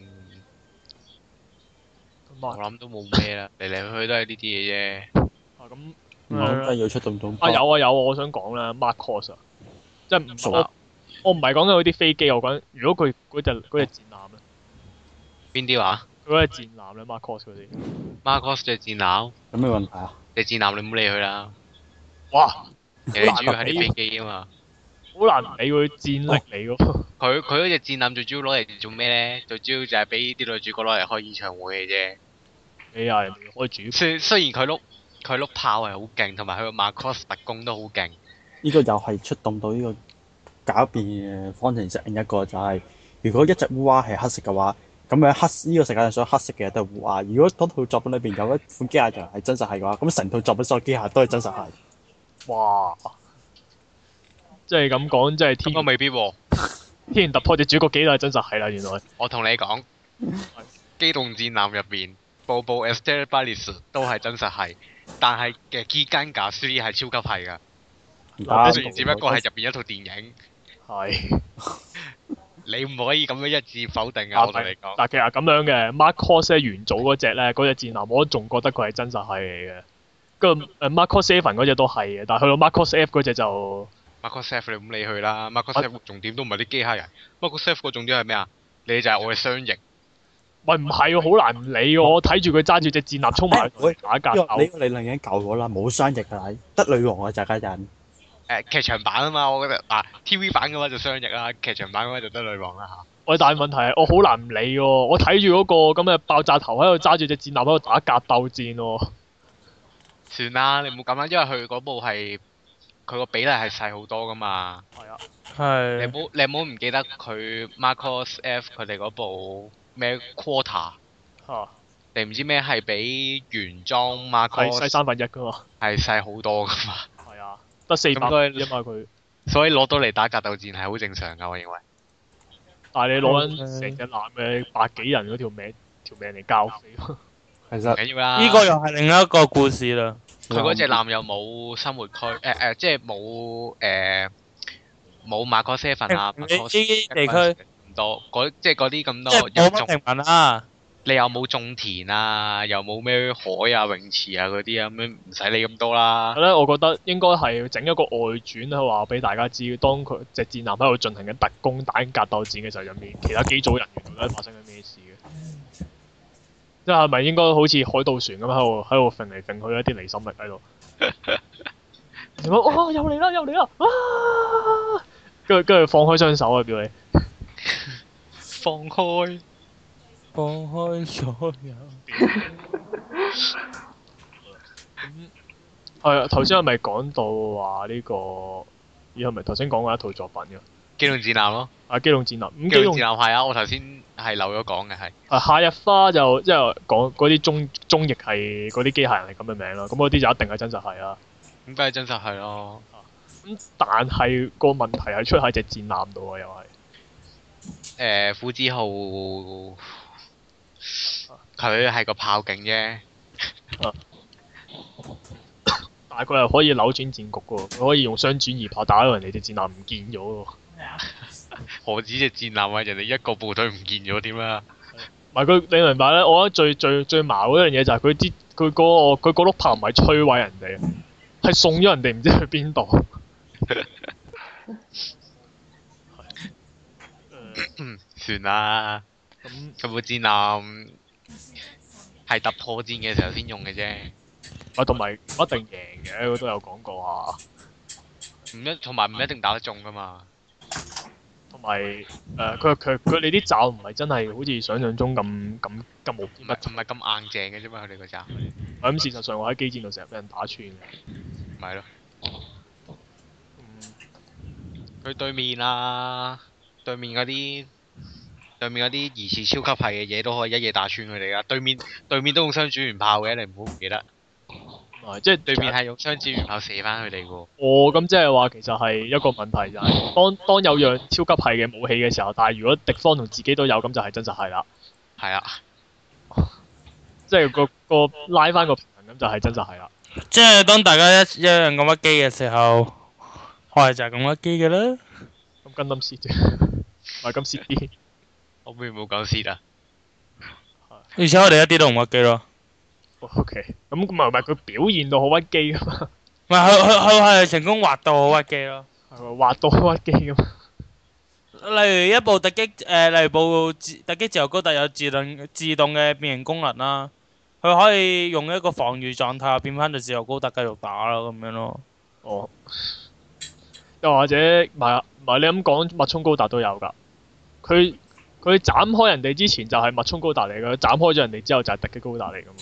我諗都冇咩啦，嚟嚟去去都係呢啲嘢啫。 咁唔係真係要出動動。 有啊，我想講啦 Mark Cross 啊，即係我唔係講緊嗰啲飛機，我講如果佢嗰隻戰艦咧。 邊啲話？ 佢嗰隻戰艦咧 Mark Cross 嗰啲。 Mark Cross 隻戰艦有咩問題啊？ 隻戰艦你唔好理佢啦。 哇！ 你主要係啲飛機啊嘛。 好難理佢戰力嚟㗎。 佢嗰隻戰艦最主要攞嚟做咩咧？最主要就係俾啲女主角攞嚟開演唱會嘅啫。 你啊，人哋開主。 雖然佢碌炮係好勁，同埋佢個 Macross 特工都好勁。 呢個又係出動到呢個狡辯嘅方程式。另一個就係、如果一隻烏鴉係黑色嘅話， 咁樣呢個世界上所有黑色嘅嘢都係烏鴉。如果嗰套作品裏邊有一款機械人係真實係嘅話，咁成套作品所有機械都係真實係。 哇！即係咁講，即係咁我未必喎。 天然突破隻主角幾都係真實係啦，原來。 我同你講，機動戰艦入邊，Bobo Estebalis 都係真實係，但係嘅基間架 3係超級係㗎。雖然只不過係入邊一套電影， 係。 你唔可以咁樣一致否定啊！我同你講。 但其實咁樣嘅 Mark Cross 咧元祖嗰只咧，嗰隻戰艦我都仲覺得佢係真實係嚟嘅。跟住Mark Cross 7嗰只都係嘅，但係去到 Mark Cross F 嗰隻就 Marcus F 你唔理佢啦，Marcus F 重點都唔係啲機械人，Marcus F 個重點係咩啊？你就係我嘅雙翼。 喂唔係喎，好難唔理喎，我睇住佢揸住隻戰艦衝埋去打格鬥。 呢個理論已經舊咗啦，冇雙翼㗎，得女王嘅就係人。 劇場版啊嘛，我覺得TV 版嘅話就雙翼啦，劇場版嘅話就得女王啦嚇。 喂，但係問題係我好難唔理喎，我睇住嗰個咁嘅爆炸頭喺度揸住隻戰艦喺度打格鬥戰喎。 算啦，你唔好咁啦，因為佢嗰部係佢個比例係細好多噶嘛。 係啊。 係。 你唔好唔記得佢 Marcus F 佢哋嗰部咩 Quarter 嚇。 你唔知咩係比原裝係 Marcus 細1/3㗎嘛。 係細好多噶嘛。 係啊。得400啫嘛佢。 所以攞到嚟打格鬥戰係好正常㗎，我認為。 但係你攞緊成隻艦嘅百幾人嗰條命嚟交飛。 其實唔緊要啦。 呢個又係另一個故事啦。 佢嗰隻艦又冇生活區，即係冇馬可7啊，馬可地區唔多，即係嗰啲咁即多係冇乜平民啦。 你又冇種田啊，又冇咩海啊、泳池啊嗰啲啊，咁樣唔使理咁多啦。 咧，我覺得應該係整一個外傳去話俾大家知，當佢隻戰艦喺度進行緊特攻打緊格鬥戰嘅時候，入面其他機組人員到底發生緊咩事嘅？即係咪應該好似海盜船咁喺度揈嚟揈去一啲離心力喺度？哇！又嚟啦！又嚟啦！啊！跟住放開雙手啊！叫你放開。 放開所有。 係啊，頭先係咪講到話呢個？咦係咪頭先講過一套作品嘅？ 機動戰艦咯。 機動戰艦。咁機動戰艦係啊，我頭先係漏咗講嘅係。 夏日花就即係講嗰啲中翼係嗰啲機械人係咁嘅名啦，咁嗰啲就一定係真實係啦。 咁梗係真實係咯。 咁但係個問題係出喺隻戰艦度啊，又係。 虎之號佢係個炮警啫。 但係佢係可以扭轉戰局嘅喎，佢可以用雙轉移炮打到人哋隻戰艦唔見咗喎。 何止隻戰艦啊！人哋一個部隊唔見咗點啊？ 唔係佢，你明白咧？我覺得最矛嗰樣嘢就係佢嗰碌炮唔係摧毀人哋，係送咗人哋唔知去邊度。 算啦。佢部戰艦係突破戰嘅時候先用嘅啫。 同埋唔一定贏嘅，佢都有講過啊。 同埋唔一定打得中噶嘛。 同埋佢哋啲罩唔係真係好似想象中咁無堅不摧。 唔係咁硬淨嘅啫嘛，佢哋個罩。 咁事實上我喺機戰度成日俾人打穿嘅。 咪咯。佢對面嗰啲疑似超級係嘅嘢都可以一嘢打穿佢哋噶。對面都用雙轉圓炮嘅，你唔好唔記得。 即係對面係用雙轉圓炮射翻佢哋喎。 咁即係話其實係一個問題就係、當有樣超級係嘅武器嘅時候，但係如果敵方同自己都有，咁就係真實係啦。 係啊。 即係個拉翻個平衡，咁就係真實係啦。 即係當大家一樣咁屈機嘅時候，我係就係咁屈機嘅啦。 咁跟冧蝕啫，唔係咁蝕啲。 我邊冇講蝕啊？ 而且我哋一啲都唔屈機咯。 OK，咁唔係佢表現到好屈機噶嘛？ 唔係佢係成功滑到好屈機咯。 係咪滑到好屈機噶嘛？ 例如一部例如部突擊自由高達有自動嘅變形功能啦，佢可以用一個防禦狀態變翻到自由高達繼續打咯，咁樣咯。 哦。又或者唔係你咁講，脈衝高達都有㗎。佢斬開人哋之前就係脈衝高達嚟㗎，斬開咗人哋之後就係突擊高達嚟㗎嘛。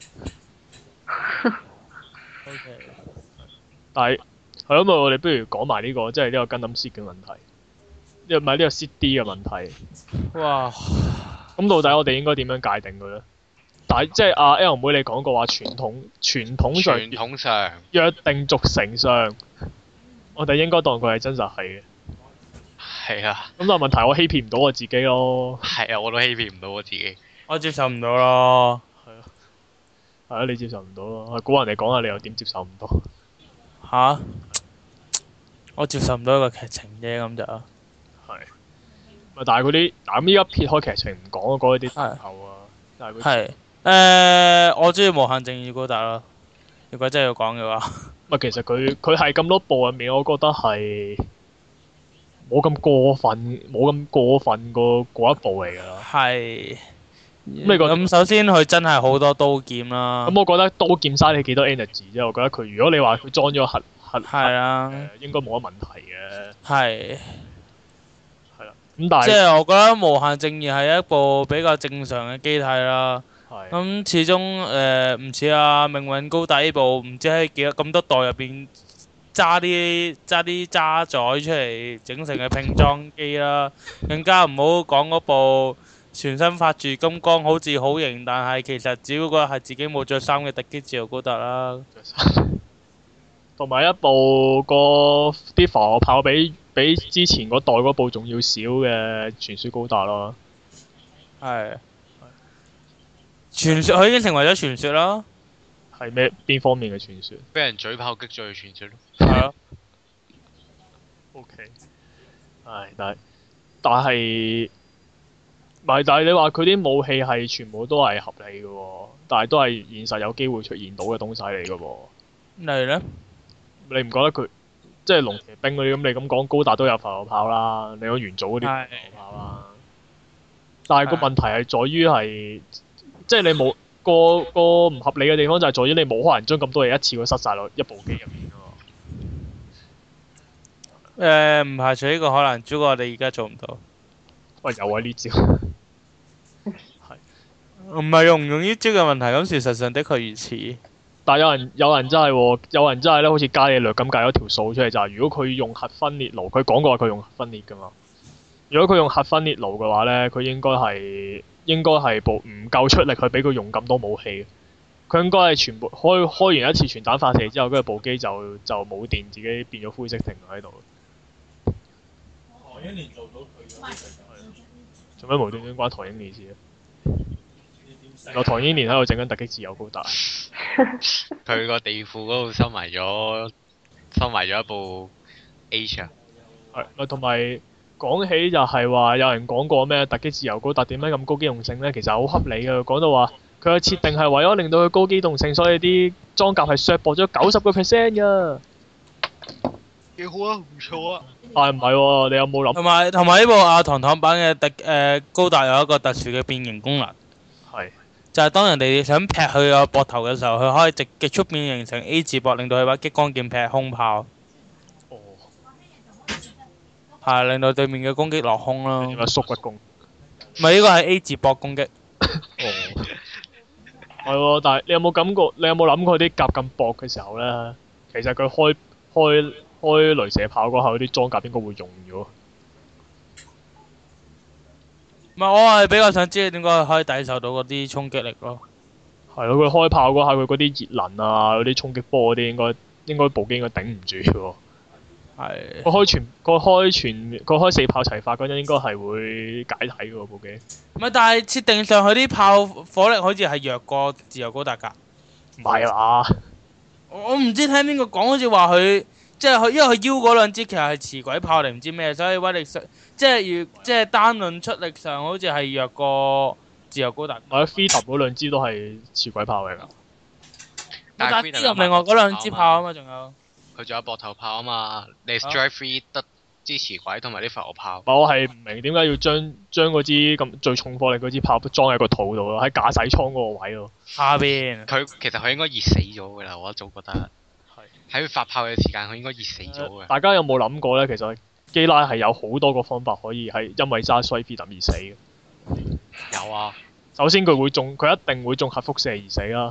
OK。 但係係咯，我哋不如講埋呢個，即係呢個 Gundam Seed 嘅問題。唔係呢個 CD 嘅問題。 哇！ 咁到底我哋應該點樣界定佢咧？但係即係阿 L 妹你講過話傳統上傳統上約定俗成上，我哋應該當佢係真實係嘅。 係啊， 咁但係問題我欺騙唔到我自己咯。 係啊，我都欺騙唔到我自己。 我接受唔到咯。 係啊，你接受唔到咯。估人哋講下，你又點接受唔到？ 吓？我接受唔到一個劇情啫，咁就係。咪但係嗰啲嗱咁依家撇開劇情唔講啊，講啲特效啊，但係佢我中意無限正義高達咯。如果真係要講嘅話， 咪其實佢係咁多部入面，我覺得係冇咁過分過嗰一部嚟㗎啦。 係。 你覺得咁首先佢真係好多刀劍啦。 咁我覺得刀劍嘥你幾多 energy 啫，我覺得佢如果你話佢裝咗核係啊， 應該冇乜問題嘅。 係。 係啦，咁但係即係我覺得無限正義係一部比較正常嘅機體啦。 係咁始終唔似啊命運高達呢部，唔知喺幾多咁多代入邊揸啲渣仔出嚟整成嘅拼裝機啦，更加唔好講嗰部全身發住金剛，好似好型，但係其實只不過係自己冇着衫嘅突擊自由高達啦。 同埋一部個啲防火炮比之前嗰代嗰部仲要少嘅傳說高達咯。 係。傳說佢已經成為咗傳說啦。 係咩邊方面嘅傳說？ 俾人嘴炮擊咗嘅傳說咯。 係咯。 O K。唉，但係你話佢啲武器係全部都係合理嘅喎，但係都係現實有機會出現到嘅東西嚟嘅喎。 例如咧？ 你唔覺得佢即係龍騎兵嗰啲咁？你咁講高達都有浮游炮啦，你講元祖嗰啲浮游炮啦。但係個問題係在於係，即係你冇個唔合理嘅地方就係在於你冇可能將咁多嘢一次過塞晒落一部機入面啊嘛。 唔排除呢個可能，只不過我哋而家做唔到。 喂，有啊呢招。 唔係用唔用呢招嘅問題，咁事實上的確如此。 但係有人真係喎，有人真係咧，好似伽利略咁計咗條數出嚟，就係如果佢用核分裂爐，佢講過話佢用核分裂㗎嘛。如果佢用核分裂爐嘅話咧，佢應該係部唔夠出力去俾佢用咁多武器。佢應該係全部開完一次傳彈發射之後，跟住部機就冇電，自己變咗灰色停喺度。 唐英年做到佢做咩無端端關唐英年事啊？個唐英年喺度整緊突擊自由高達。 佢個地庫嗰度收埋咗一部 H 啊。 係，同埋講起就係話，有人講過咩突擊自由高達點解咁高機動性呢？其實好合理嘅，講到話佢嘅設定係為咗令到佢高機動性，所以啲裝甲係削薄咗90%㗎。 幾好啊，唔錯啊。 但係唔係喎？你有冇諗？ 同埋呢部阿糖糖版嘅高達有一個特殊嘅變形功能。 係。 就係當人哋想劈佢個膊頭嘅時候，佢可以極速變形成 A 字膊，令到佢把激光劍劈空炮。 哦。 係令到對面嘅攻擊落空啦。 點解縮骨攻？ 唔係呢個係 A 字膊攻擊。 哦。係喎，但係你有冇諗過啲甲咁薄嘅時候咧，其實佢開雷射炮嗰下，嗰啲裝甲應該會用咗。 唔係，我係比較想知點解佢可以抵受到嗰啲衝擊力咯。 係咯，佢開炮嗰下，佢嗰啲熱能啊，嗰啲衝擊波嗰啲，應該部機應該頂唔住嘅喎。 係。 佢開四炮齊發嗰陣，應該係會解體嘅喎部機。 唔係，但係設定上佢啲炮火力好似係弱過自由高達㗎。 唔係啊嘛？ 我唔知聽邊個講，好似話佢即係佢，因為佢腰嗰兩支其實係磁軌炮定唔知咩，所以威力上即係單論出力上好似係弱過自由高達。 或者 Freedom 嗰兩支都係磁軌炮嚟㗎。 但係 Freedom 另外嗰兩支炮啊嘛，仲有。 佢仲有膊頭炮啊嘛，你 Strike Free 得支持軌同埋啲浮游炮。 我係唔明點解要將嗰支咁最重火力嗰支炮裝喺個肚度咯，喺駕駛艙嗰個位咯。 下邊。 其實佢應該熱死咗㗎啦，我一早覺得。喺佢發炮嘅時間，佢應該熱死咗嘅。 大家有冇諗過咧？其實基拉係有好多個方法可以係因為揸衰 Freedom 而死嘅。 有啊。首先佢一定會中核輻射而死啦。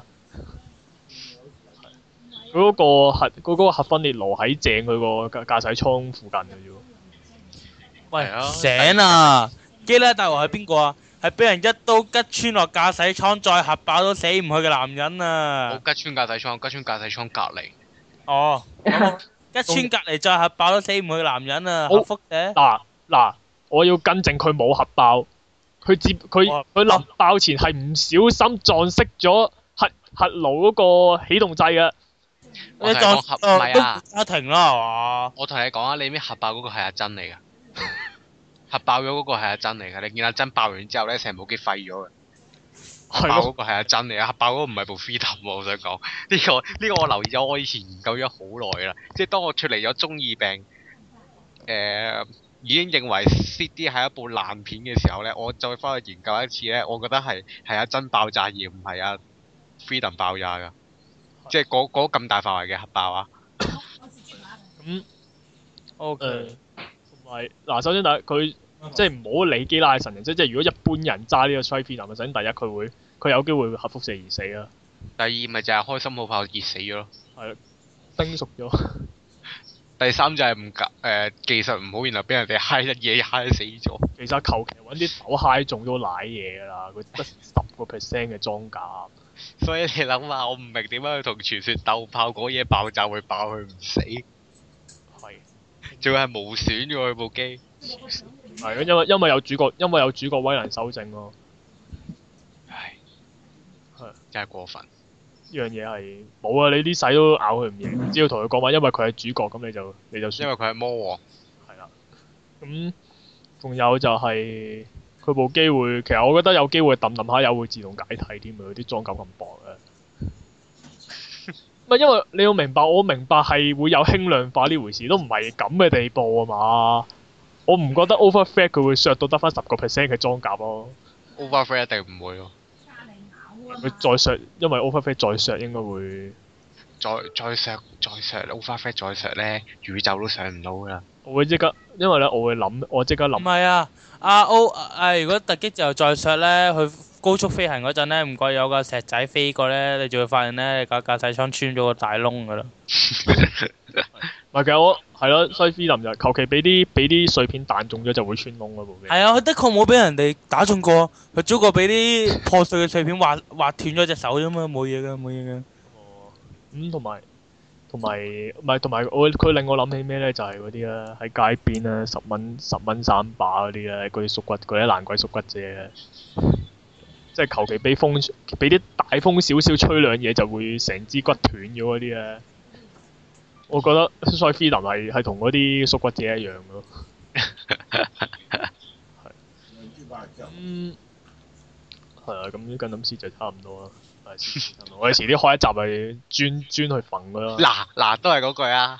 佢嗰個核分裂爐喺正佢個駕駛艙附近嘅啫喎。 喂，醒啊！基拉大王係邊個啊？ 係俾人一刀吉穿落駕駛艙，再核爆都死唔去嘅男人啊！ 冇吉穿駕駛艙，吉穿駕駛艙隔離。 哦，吉穿隔離再核爆都死唔去嘅男人啊！ 好核輻射。 嗱，我要更正佢冇核爆，佢臨爆前係唔小心撞熄咗核爐嗰個起動掣嘅。 我同你講核唔係啊， 家庭啦係嘛？ 我同你講啊，你咩核爆嗰個係阿珍嚟㗎。核爆咗嗰個係阿珍嚟㗎，你見阿珍爆完之後咧，成部機廢咗嘅。核爆嗰個係阿珍嚟啊，核爆嗰個唔係部 Freedom 喎，我想講呢個我留意咗，我以前研究咗好耐啦。即係當我脱離咗中二病，已經認為 CD 係一部爛片嘅時候咧，我再翻去研究一次咧，我覺得係阿珍爆炸而唔係阿 Freedom 爆炸㗎。即係嗰咁大範圍嘅核爆啊！ 咁 O.K. 同埋嗱，首先第一佢即係唔好理基拉嘅神形，即係如果一般人揸呢個 Strike Freedom 首先第一佢有機會核輻射而死啦。 第二咪就係開心號炮熱死咗咯。 係叮熟咗。 第三就係技術唔好，然後俾人哋嗨一嘢嗨死咗。 其實求其揾啲手嗨中都賴嘢㗎啦，佢得10% 嘅裝甲。 所以你諗下，我唔明點解佢同傳說鬥炮嗰嘢爆炸會爆佢唔死， 係。 仲要係無損嘅喎佢部機。 係因為有主角威能修正咯。 唉， 係真係過分。 呢樣嘢係冇啊！你啲使都咬佢唔贏，只要同佢講話，因為佢係主角，咁你就算。 因為佢係魔王。 係啦。咁仲有就係佢部機會，其實我覺得有機會揼揼下又會自動解體添啊！佢啲裝甲咁薄嘅。唔係因為你要明白，我明白係會有輕量化呢回事，都唔係咁嘅地步啊嘛。我唔覺得 overfed 佢會削到得翻10% 嘅裝甲咯。 Overfed 一定唔會喎。 佢再削，因為 overfed 再削應該會。 再削 Overfed 再削咧，宇宙都上唔到㗎啦。 我會即刻，因為咧我即刻諗。 唔係啊，如果突擊之後再削咧，去高速飛行嗰陣咧，唔覺有個石仔飛過咧，你就會發現咧，你架駕駛艙穿咗個大窿㗎啦。 唔係其實我係咯，所以 Freedom 就求其俾啲碎片彈中咗就會穿窿嗰部機。 係啊，佢的確冇俾人哋打中過，佢只不過俾啲破碎嘅碎片劃斷咗隻手啫嘛，冇嘢㗎，冇嘢㗎。 哦，咁同埋佢令我諗起咩咧？就係嗰啲咧喺街邊咧10蚊3把嗰啲咧，嗰啲縮骨嗰啲爛鬼縮骨姐咧，即係求其俾啲大風少少吹兩嘢就會成支骨斷咗嗰啲咧。我覺得所以 Freedom 係同嗰啲縮骨姐一樣咯。係啊，咁跟諗師就差唔多啦。我哋遲啲開一集係專去焚佢咯。 嗱，都係嗰句啊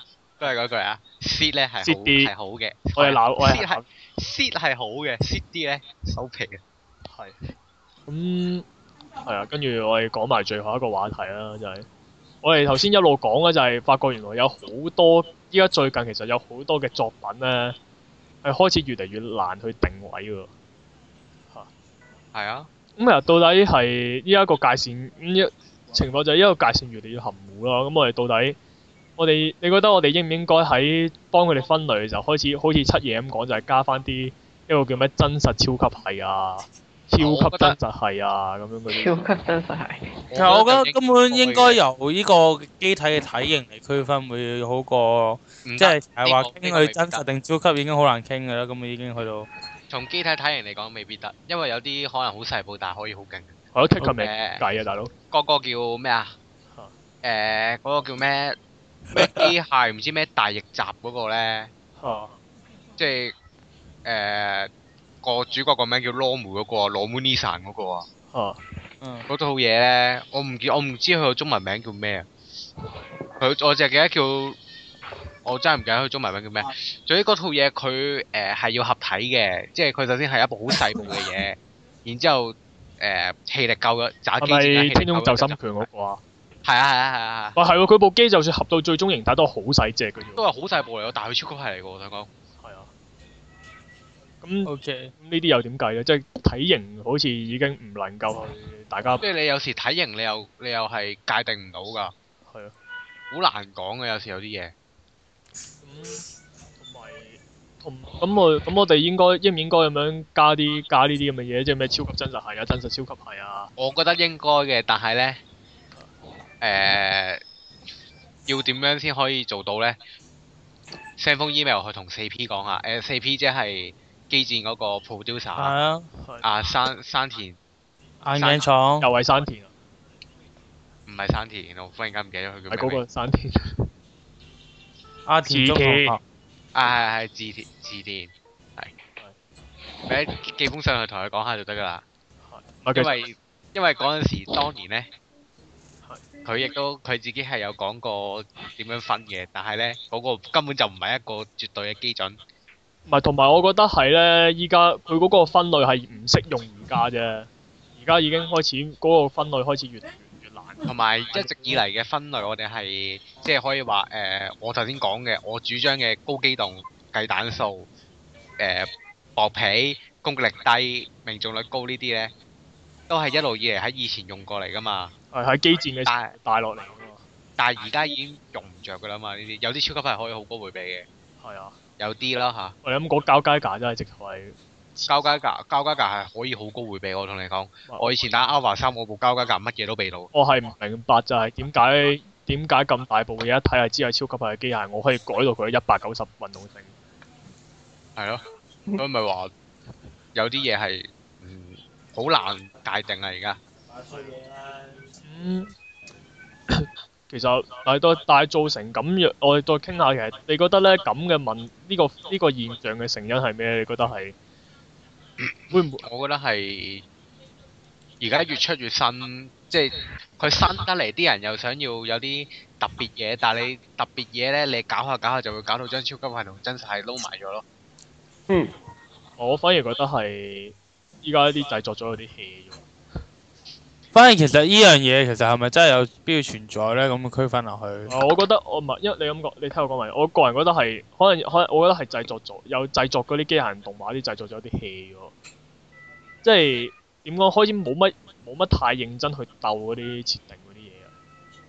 ，Seed 咧係好嘅。 我哋鬧 Seed 係好嘅，Seed 啲咧收皮嘅。 係。咁係啊，跟住我哋講埋最後一個話題啦，就係我哋頭先一路講嘅就係發覺原來有好多依家最近其實有好多嘅作品咧係開始越嚟越難去定位喎。 係啊。 咁其實到底係依家個界線情況就係依個界線越嚟越含糊啦。咁我哋到底你覺得我哋應唔應該喺幫佢哋分類嘅時候開始好似七爺咁講，就係加翻啲一個叫咩真實超級系啊、超級真實系啊咁樣嗰啲。 超級真實係。 其實我覺得根本應該由呢個機體嘅體型嚟區分會好過，即係話傾佢真實定超級已經好難傾㗎啦。咁已經去到。 從機體體型嚟講未必得，因為有啲可能好細部，但係可以好勁。 我覺得 Kick 佢未計啊，大佬。 嗰個叫咩啊？嗰個叫咩機械唔知咩大翼集嗰個咧？即係個主角個名叫羅姆嗰個，羅姆尼山嗰個啊。嗰套嘢咧，我唔知佢個中文名叫咩啊？我淨係記得叫。我真係唔記得佢中文名叫咩。總之嗰套嘢佢係要合體嘅，即係佢首先係一部好細部嘅嘢，然之後氣力夠嘅打機。係咪天空就心拳嗰個啊？ 係啊。 哇係喎，佢部機就算合到最終形態都好細隻嘅啫。都係好細部嚟嘅，但係佢超級係嚟嘅喎，我想講。 係啊。咁 OK，呢啲又點計咧？即係體型好似已經唔能夠去大家。 即係你有時體型你又係界定唔到㗎。係啊。好難講嘅有時有啲嘢。 咁我哋應唔應該咁樣加呢啲咁嘅嘢，即係咩超級真實係啊、真實超級係啊？ 我覺得應該嘅，但係咧要點樣先可以做到咧？send 封 email 去同4P 講下，4P 即係機戰嗰個 producer 係啊， 啊，山田眼鏡廠又係山田啊， 唔係山田，我忽然間唔記得佢叫係嗰咩名。 個山田。 阿田中學校係字田，係。俾寄封信去同佢講下就得㗎啦。 唔係因為嗰陣時當年咧，佢自己係有講過點樣分嘅，但係咧嗰個根本就唔係一個絕對嘅基準。 唔係，同埋我覺得係咧，依家佢嗰個分類係唔適用而家啫。而家已經開始嗰個分類開始越嚟越難。 同埋一直以嚟嘅分類，我哋係即係可以話我頭先講嘅，我主張嘅高機動、計彈數、薄皮、攻擊力低、命中率高呢啲咧，都係一路以嚟喺以前用過嚟㗎嘛。 係喺機戰嘅時候帶落嚟㗎嘛。 但係而家已經用唔着㗎啦嘛，呢啲有啲超級係可以好高回避嘅， 係啊。 有啲啦嚇。 我哋咁講交街架真係直頭係。 交街架係可以好高回避，我同你講。我以前打 Alpha 3，我部交街架乜嘢都避到。 我係唔明白就係點解咁大部嘢一睇係知係超級係機械，我可以改到佢190運動性。 係咯，所以咪話有啲嘢係好難界定啊！而家。 其實但係造成咁樣，我哋再傾下，其實你覺得咧咁嘅呢個現象嘅成因係咩？你覺得係會唔會？ 我覺得係而家越出越新，即係佢新得嚟，啲人又想要有啲特別嘢，但係你特別嘢咧，你搞下就會搞到將超級係同真實係撈埋咗咯。 我反而覺得係依家啲製作咗有啲 hea 咗。 反而其實呢樣嘢其實係咪真係有必要存在咧？咁嘅區分落去。 我覺得我唔係，因為你咁講，你聽我講埋。我個人覺得係可能，我覺得係製作嗰啲機械人動畫啲製作咗有啲 hea 咗。即係點講？開始冇乜太認真去鬥嗰啲設定嗰啲嘢啊。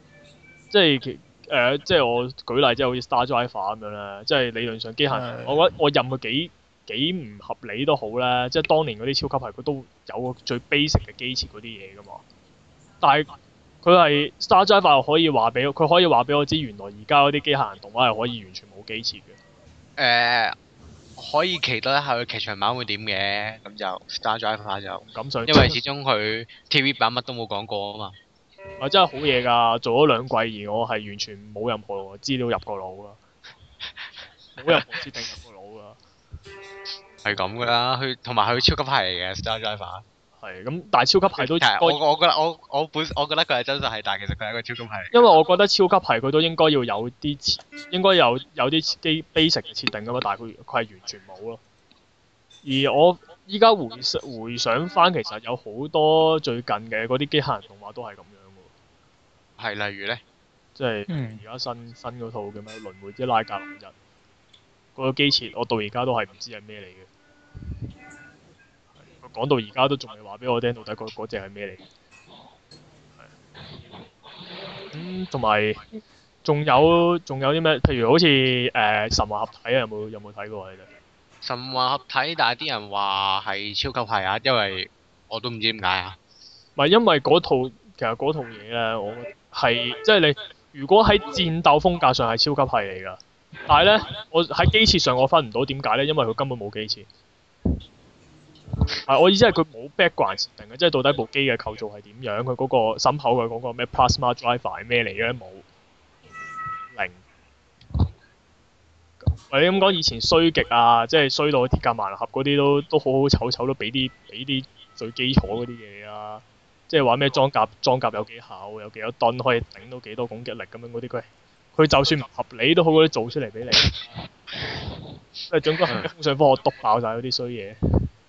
即係我舉例，即係好似 Star Driver 咁樣咧，即係理論上機械人，我覺得我任佢幾唔合理都好咧，即係當年嗰啲超級係佢都有個最 basic 嘅機設嗰啲嘢噶嘛。但係佢係 Star Driver 可以話俾我知，原來而家嗰啲機械人動畫係可以完全冇機設嘅。 可以期待一下佢劇場版會點嘅，咁就 Star Driver 就咁想， 因為始終佢 TV 版乜都冇講過啊嘛。 真係好嘢㗎，做咗2季而我係完全冇任何資料入過腦㗎，冇任何設定入過腦㗎。 係咁㗎啦，同埋佢超級係嚟嘅 Star Driver。 係咁，但係超級係都我覺得佢係真實係，但係其實佢係一個超級係。 因為我覺得超級係佢都應該要有啲basic 嘅設定㗎嘛，但係佢係完全冇咯。而我依家回想翻，其實有好多最近嘅嗰啲機械人動畫都係咁樣㗎喎。 係例如咧， 即係而家新嗰套叫咩《輪迴之拉格林日》嗰個機設，我到而家都係唔知係咩嚟嘅。講到而家都仲未話俾我聽，到底嗰隻係咩嚟？同埋仲有啲咩？譬如好似神話合體啊，有冇睇過啊？你哋神話合體，但係啲人話係超級係啊，因為我都唔知點解啊。 唔係因為其實嗰套嘢咧，我係即係你如果喺戰鬥風格上係超級係嚟㗎，但係咧我喺機設上我分唔到點解咧，因為佢根本冇機設。我意思係佢冇 background 設定嘅，即係到底部機嘅構造係點樣，佢嗰個心口嘅嗰個咩 plasma driver 係咩嚟嘅冇零。或者咁講，以前衰極啊，即係衰到鐵甲萬能俠嗰啲都好好醜都俾啲最基礎嗰啲嘢啊，即係話咩裝甲有幾厚，有幾多噸可以頂到幾多攻擊力咁樣嗰啲，佢就算唔合理都好，嗰啲做出嚟俾你。即係總之係風上科學篤爆晒嗰啲衰嘢。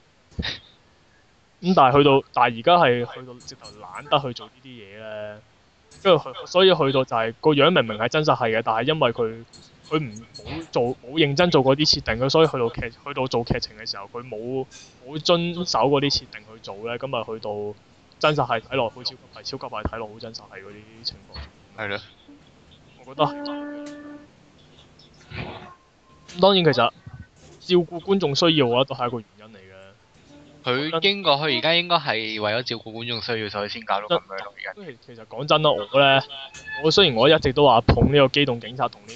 咁但係而家係去到直頭懶得去做呢啲嘢咧，跟住所以去到就係個樣明明係真實係嘅，但係因為佢冇認真做嗰啲設定，所以去到做劇情嘅時候，佢冇遵守嗰啲設定去做咧，咁咪去到真實係睇落好超級係，超級係睇落好真實係嗰啲情況。 係咯。 我覺得當然其實照顧觀眾需要，我覺得都係一個原因嚟嘅。 佢而家應該係為咗照顧觀眾需要，所以先搞到咁樣咯。而家其實講真啦，我雖然我一直都話捧呢個機動警察同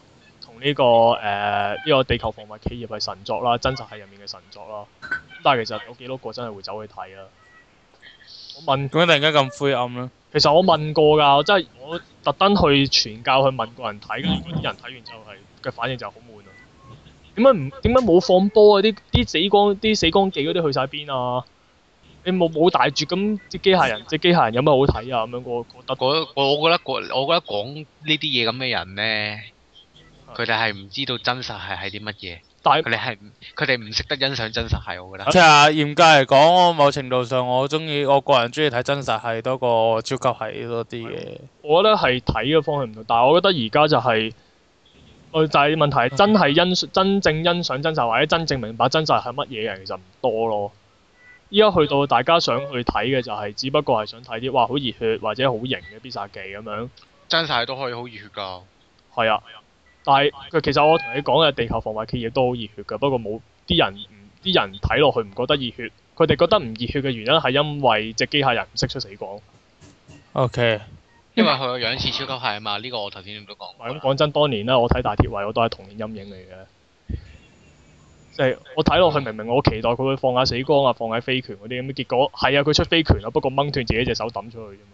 呢個地球防衞企業係神作啦，真實係入面嘅神作啦。咁但係其實有幾多個真係會走去睇啊？我問， 點解突然間咁灰暗咧？ 其實我問過㗎，我特登去傳教去問過人睇，跟住嗰啲人睇完之後嘅反應就係好悶啊！點解冇放波啊？啲死光記嗰啲去晒邊啊？你冇大絕咁隻機械人有咩好睇啊？咁樣我覺得講呢啲嘢咁嘅人呢，佢哋係唔知道真實係啲乜嘢。 但係佢哋唔識得欣賞真實係，我覺得。 即係嚴格嚟講，某程度上我個人中意睇真實係多過超級係多啲嘅。 我覺得係睇嘅方向唔同，但係我覺得而家就係、就係問題係真正欣賞真實或者真正明白真實係乜嘢嘅人其實唔多咯。依家去到大家想去睇嘅就係、只不過係想睇啲哇好熱血或者好型嘅必殺技咁樣。 真實係都可以好熱血㗎。 係啊。但係其實我同你講嘅地球防衞企業都好熱血㗎，不過冇啲人睇落去唔覺得熱血，佢哋覺得唔熱血嘅原因係因為隻機械人唔識出死光。 OK。 因為佢個樣似超級係啊嘛，呢個我頭先都講。 咁講真，當年咧我睇大鐵衛我都係童年陰影嚟嘅，即係我睇落去明明我期待佢會放下死光啊，放下飛拳嗰啲咁，結果係啊佢出飛拳啊，不過掹斷自己隻手抌出去啫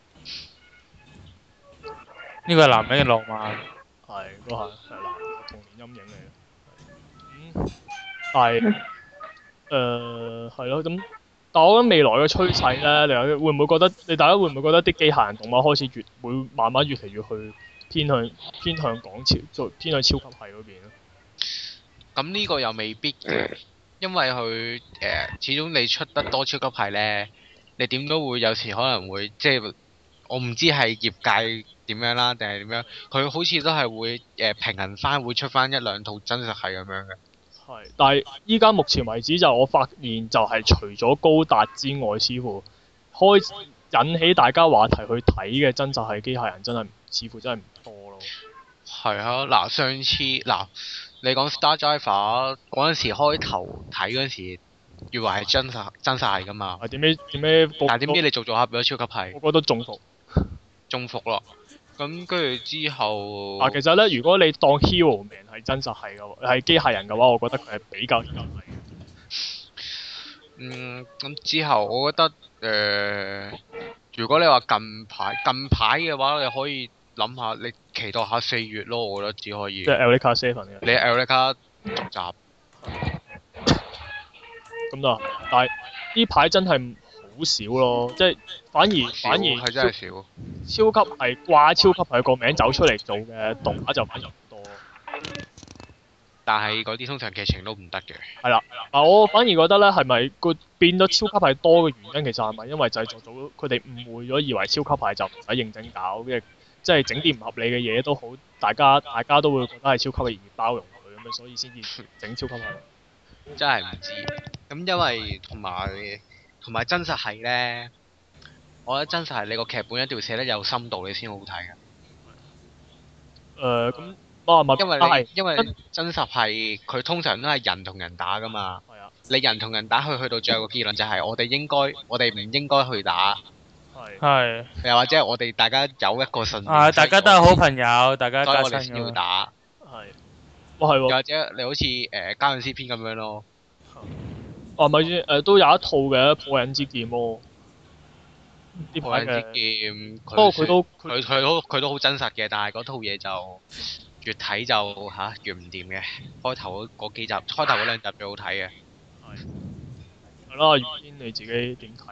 嘛。 呢個係男人嘅浪漫。 係，都係男童年陰影嚟嘅。但係係咯，咁但我覺得未來嘅趨勢咧，大家會唔會覺得啲機械人動畫開始會慢慢越嚟越去偏向港超，偏向超級系嗰邊咧？ 咁呢個又未必嘅，因為佢始終你出得多超級係呢，你點都會有時可能會即係我唔知係業界點樣啦，定係點樣？佢好似都係會平衡翻，會出翻一兩套真實係咁樣嘅。 係，但係依家目前為止就我發現就係除咗高達之外，似乎引起大家話題去睇嘅真實係機械人似乎真係唔多咯。 係啊，嗱上次你講 Star Driver 嗰陣時開頭睇嗰陣時，以為係真實係㗎嘛。 點解？ 但係點知你做下變咗超級係。 我覺得中伏。 中伏咯。咁跟住之後。 其實咧，如果你當 Hero Man 係真實係係機械人嘅話，我覺得佢係比較真係。 咁之後我覺得如果你話近排嘅話，你可以諗下，你期待下4月咯，我覺得只可以。 即係 Eureka 7嘅。 你 Eureka 續集。 咁就，但係呢排真係好少咯，即係反而係真係少。 超級係掛超級係個名走出嚟做嘅動畫就反而唔多。 但係嗰啲通常劇情都唔得嘅。 係啦，我反而覺得咧，係咪個變咗超級係多嘅原因，其實係咪因為製作組佢哋誤會咗，以為超級係就唔使認真搞，即係整啲唔合理嘅嘢都好，大家都會覺得係超級嘅而包容佢咁樣，所以先至整超級係。 真係唔知。咁因為同埋真實係呢，我覺得真實係你個劇本一定要寫得有深度，你先好睇嘅。 咁因為真實係佢通常都係人同人打㗎嘛。 係啊。 你人同人打去到最後個結論就係我哋唔應該去打。 係。 又或者我哋大家有一個信念。 大家都係好朋友，大家加所以我哋先要打。 係。係喎。 又或者你好似家陣 C 篇咁樣咯。 咪先都有一套嘅破忍之劍咯。 破忍之劍， 不過佢都好真實嘅，但係嗰套嘢就越睇就越唔掂嘅。開頭嗰2集最好睇嘅。 係啦，月天你自己點睇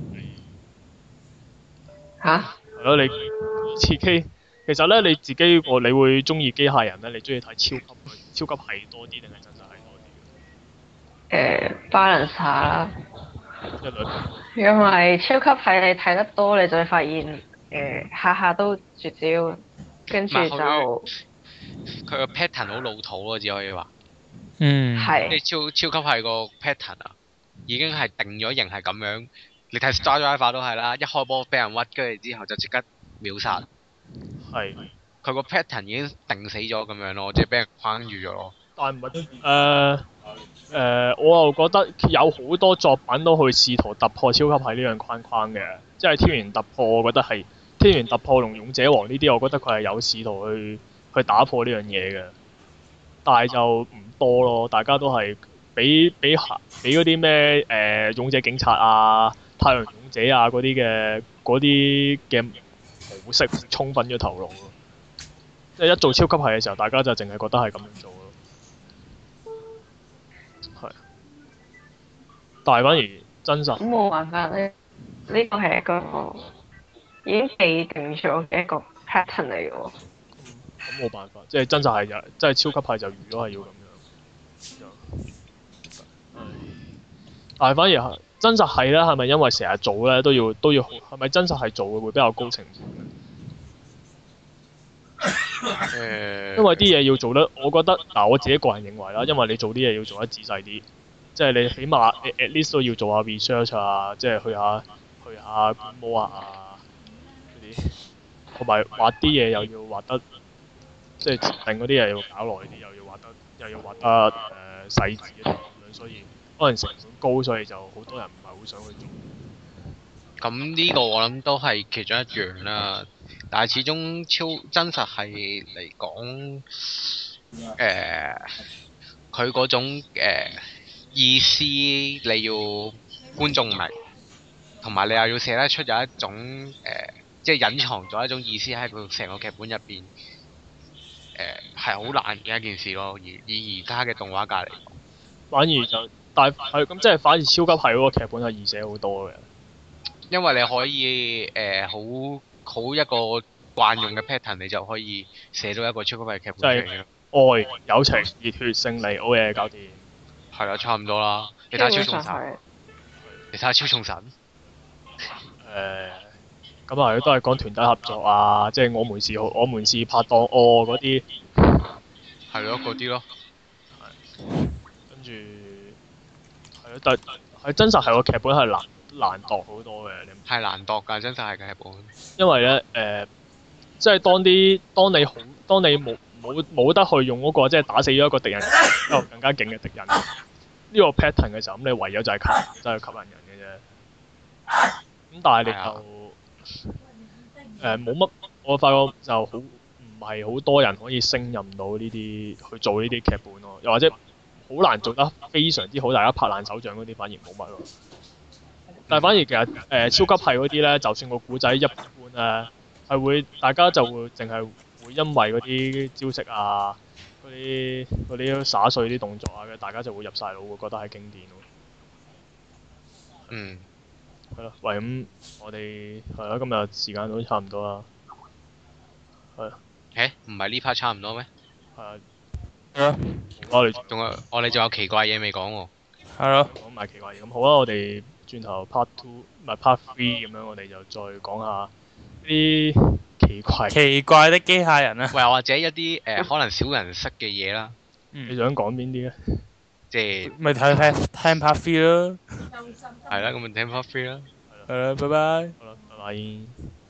啊？係咯，你自己其實咧你自己你會中意機械人咧？你中意睇超級係多啲定係真實係多啲 ？balance 下啦。因為超級係你睇得多，你就會發現下下都絕招，跟住就佢個 pattern 好老土咯，只可以話。 係。 你超級係個 pattern 啊，已經係定咗型係咁樣。你睇 Star Driver 都係啦，一開波俾人屈，跟住之後就即刻秒殺。 係。 佢個 pattern 已經定死咗咁樣咯，即係俾人框住咗咯。 但唔係我又覺得有好多作品都去試圖突破超級系呢樣框框嘅，即係天元突破，我覺得係天元突破同勇者王呢啲，我覺得佢係有試圖去打破呢樣嘢嘅，但係就唔多咯，大家都係俾嗰啲咩勇者警察啊、太陽勇者啊嗰啲嘅模式沖昏咗頭腦咯，即係一做超級系嘅時候，大家就淨係覺得係咁樣做咯。但係反而真實咁冇辦法咧，呢個係一個已經既定咗嘅一個 pattern 嚟嘅喎。 咁冇辦法，即係真實係就即係超級系就預咗係要咁樣。唉但係反而係真實係咧，係咪因為成日做咧都要係咪真實係做嘅會比較高成本咧？因為啲嘢要做得，我覺得嗱我自己個人認為啦，因為你做啲嘢要做得仔細啲，即係你起碼你 at least 都要做下 research 啊，即係去下觀摩啊嗰啲，同埋畫啲嘢又要畫得，即係設定嗰啲嘢要搞耐啲，又要畫得細緻一啲咁樣，所以可能成本高，所以就好多人唔係好想去做。 咁呢個我諗都係其中一樣啦，但係始終超真實係嚟講，佢嗰種意思你要觀眾明，同埋你又要寫得出有一種即係隱藏咗一種意思喺佢成個劇本入邊，係好難嘅一件事咯。以而家嘅動畫界嚟講， 反而就但係咁即係反而超級係嗰個劇本係易寫好多嘅。 因為你可以好一個慣用嘅 pattern，你就可以寫到一個超級嘅劇本出嚟嘅。 愛、友情、熱血、勝利，好嘢搞掂。 係啦，差唔多啦。你睇下超基重神， 本上係你睇下超重神， 咁啊都係講團體合作啊，即係我們是拍檔嗰啲， 係咯嗰啲咯。 跟住係咯，但係真實係個劇本係難度好多嘅， 係難度㗎，真實係嘅劇本。 因為咧即係當你冇得去用嗰個即係打死咗一個敵人，一個更加勁嘅敵人呢個 pattern 嘅時候，咁你唯有就係真係吸引人嘅啫。咁但係你就冇乜，我發覺就好唔係好多人可以勝任到呢啲去做呢啲劇本咯，又或者好難做得非常之好，大家拍爛手掌嗰啲反而冇乜咯。但係反而其實超級系嗰啲咧，就算個古仔一般咧，係會大家就會淨係會因為嗰啲招式啊、嗰啲灑碎啲動作啊，大家就會入晒腦，會覺得係經典咯。 嗯。 係咯，喂咁我哋係咯，今日時間都差唔多啦。係啊。 唔係呢 part 差唔多咩？ 係啊。 係咯， 我哋我哋仲有奇怪嘢未講喎。 係咯， 講埋奇怪嘢咁好啦，我哋轉頭 part two 唔係 part three 咁樣，我哋就再講下啲奇怪的機械人啊！ 喂，或者一啲可能少人識嘅嘢啦， 你想講邊啲咧？ 即係咪睇聽 part three 咯。 係啦，咁咪聽 part three 啦。 係啦，拜拜。 好啦，拜拜。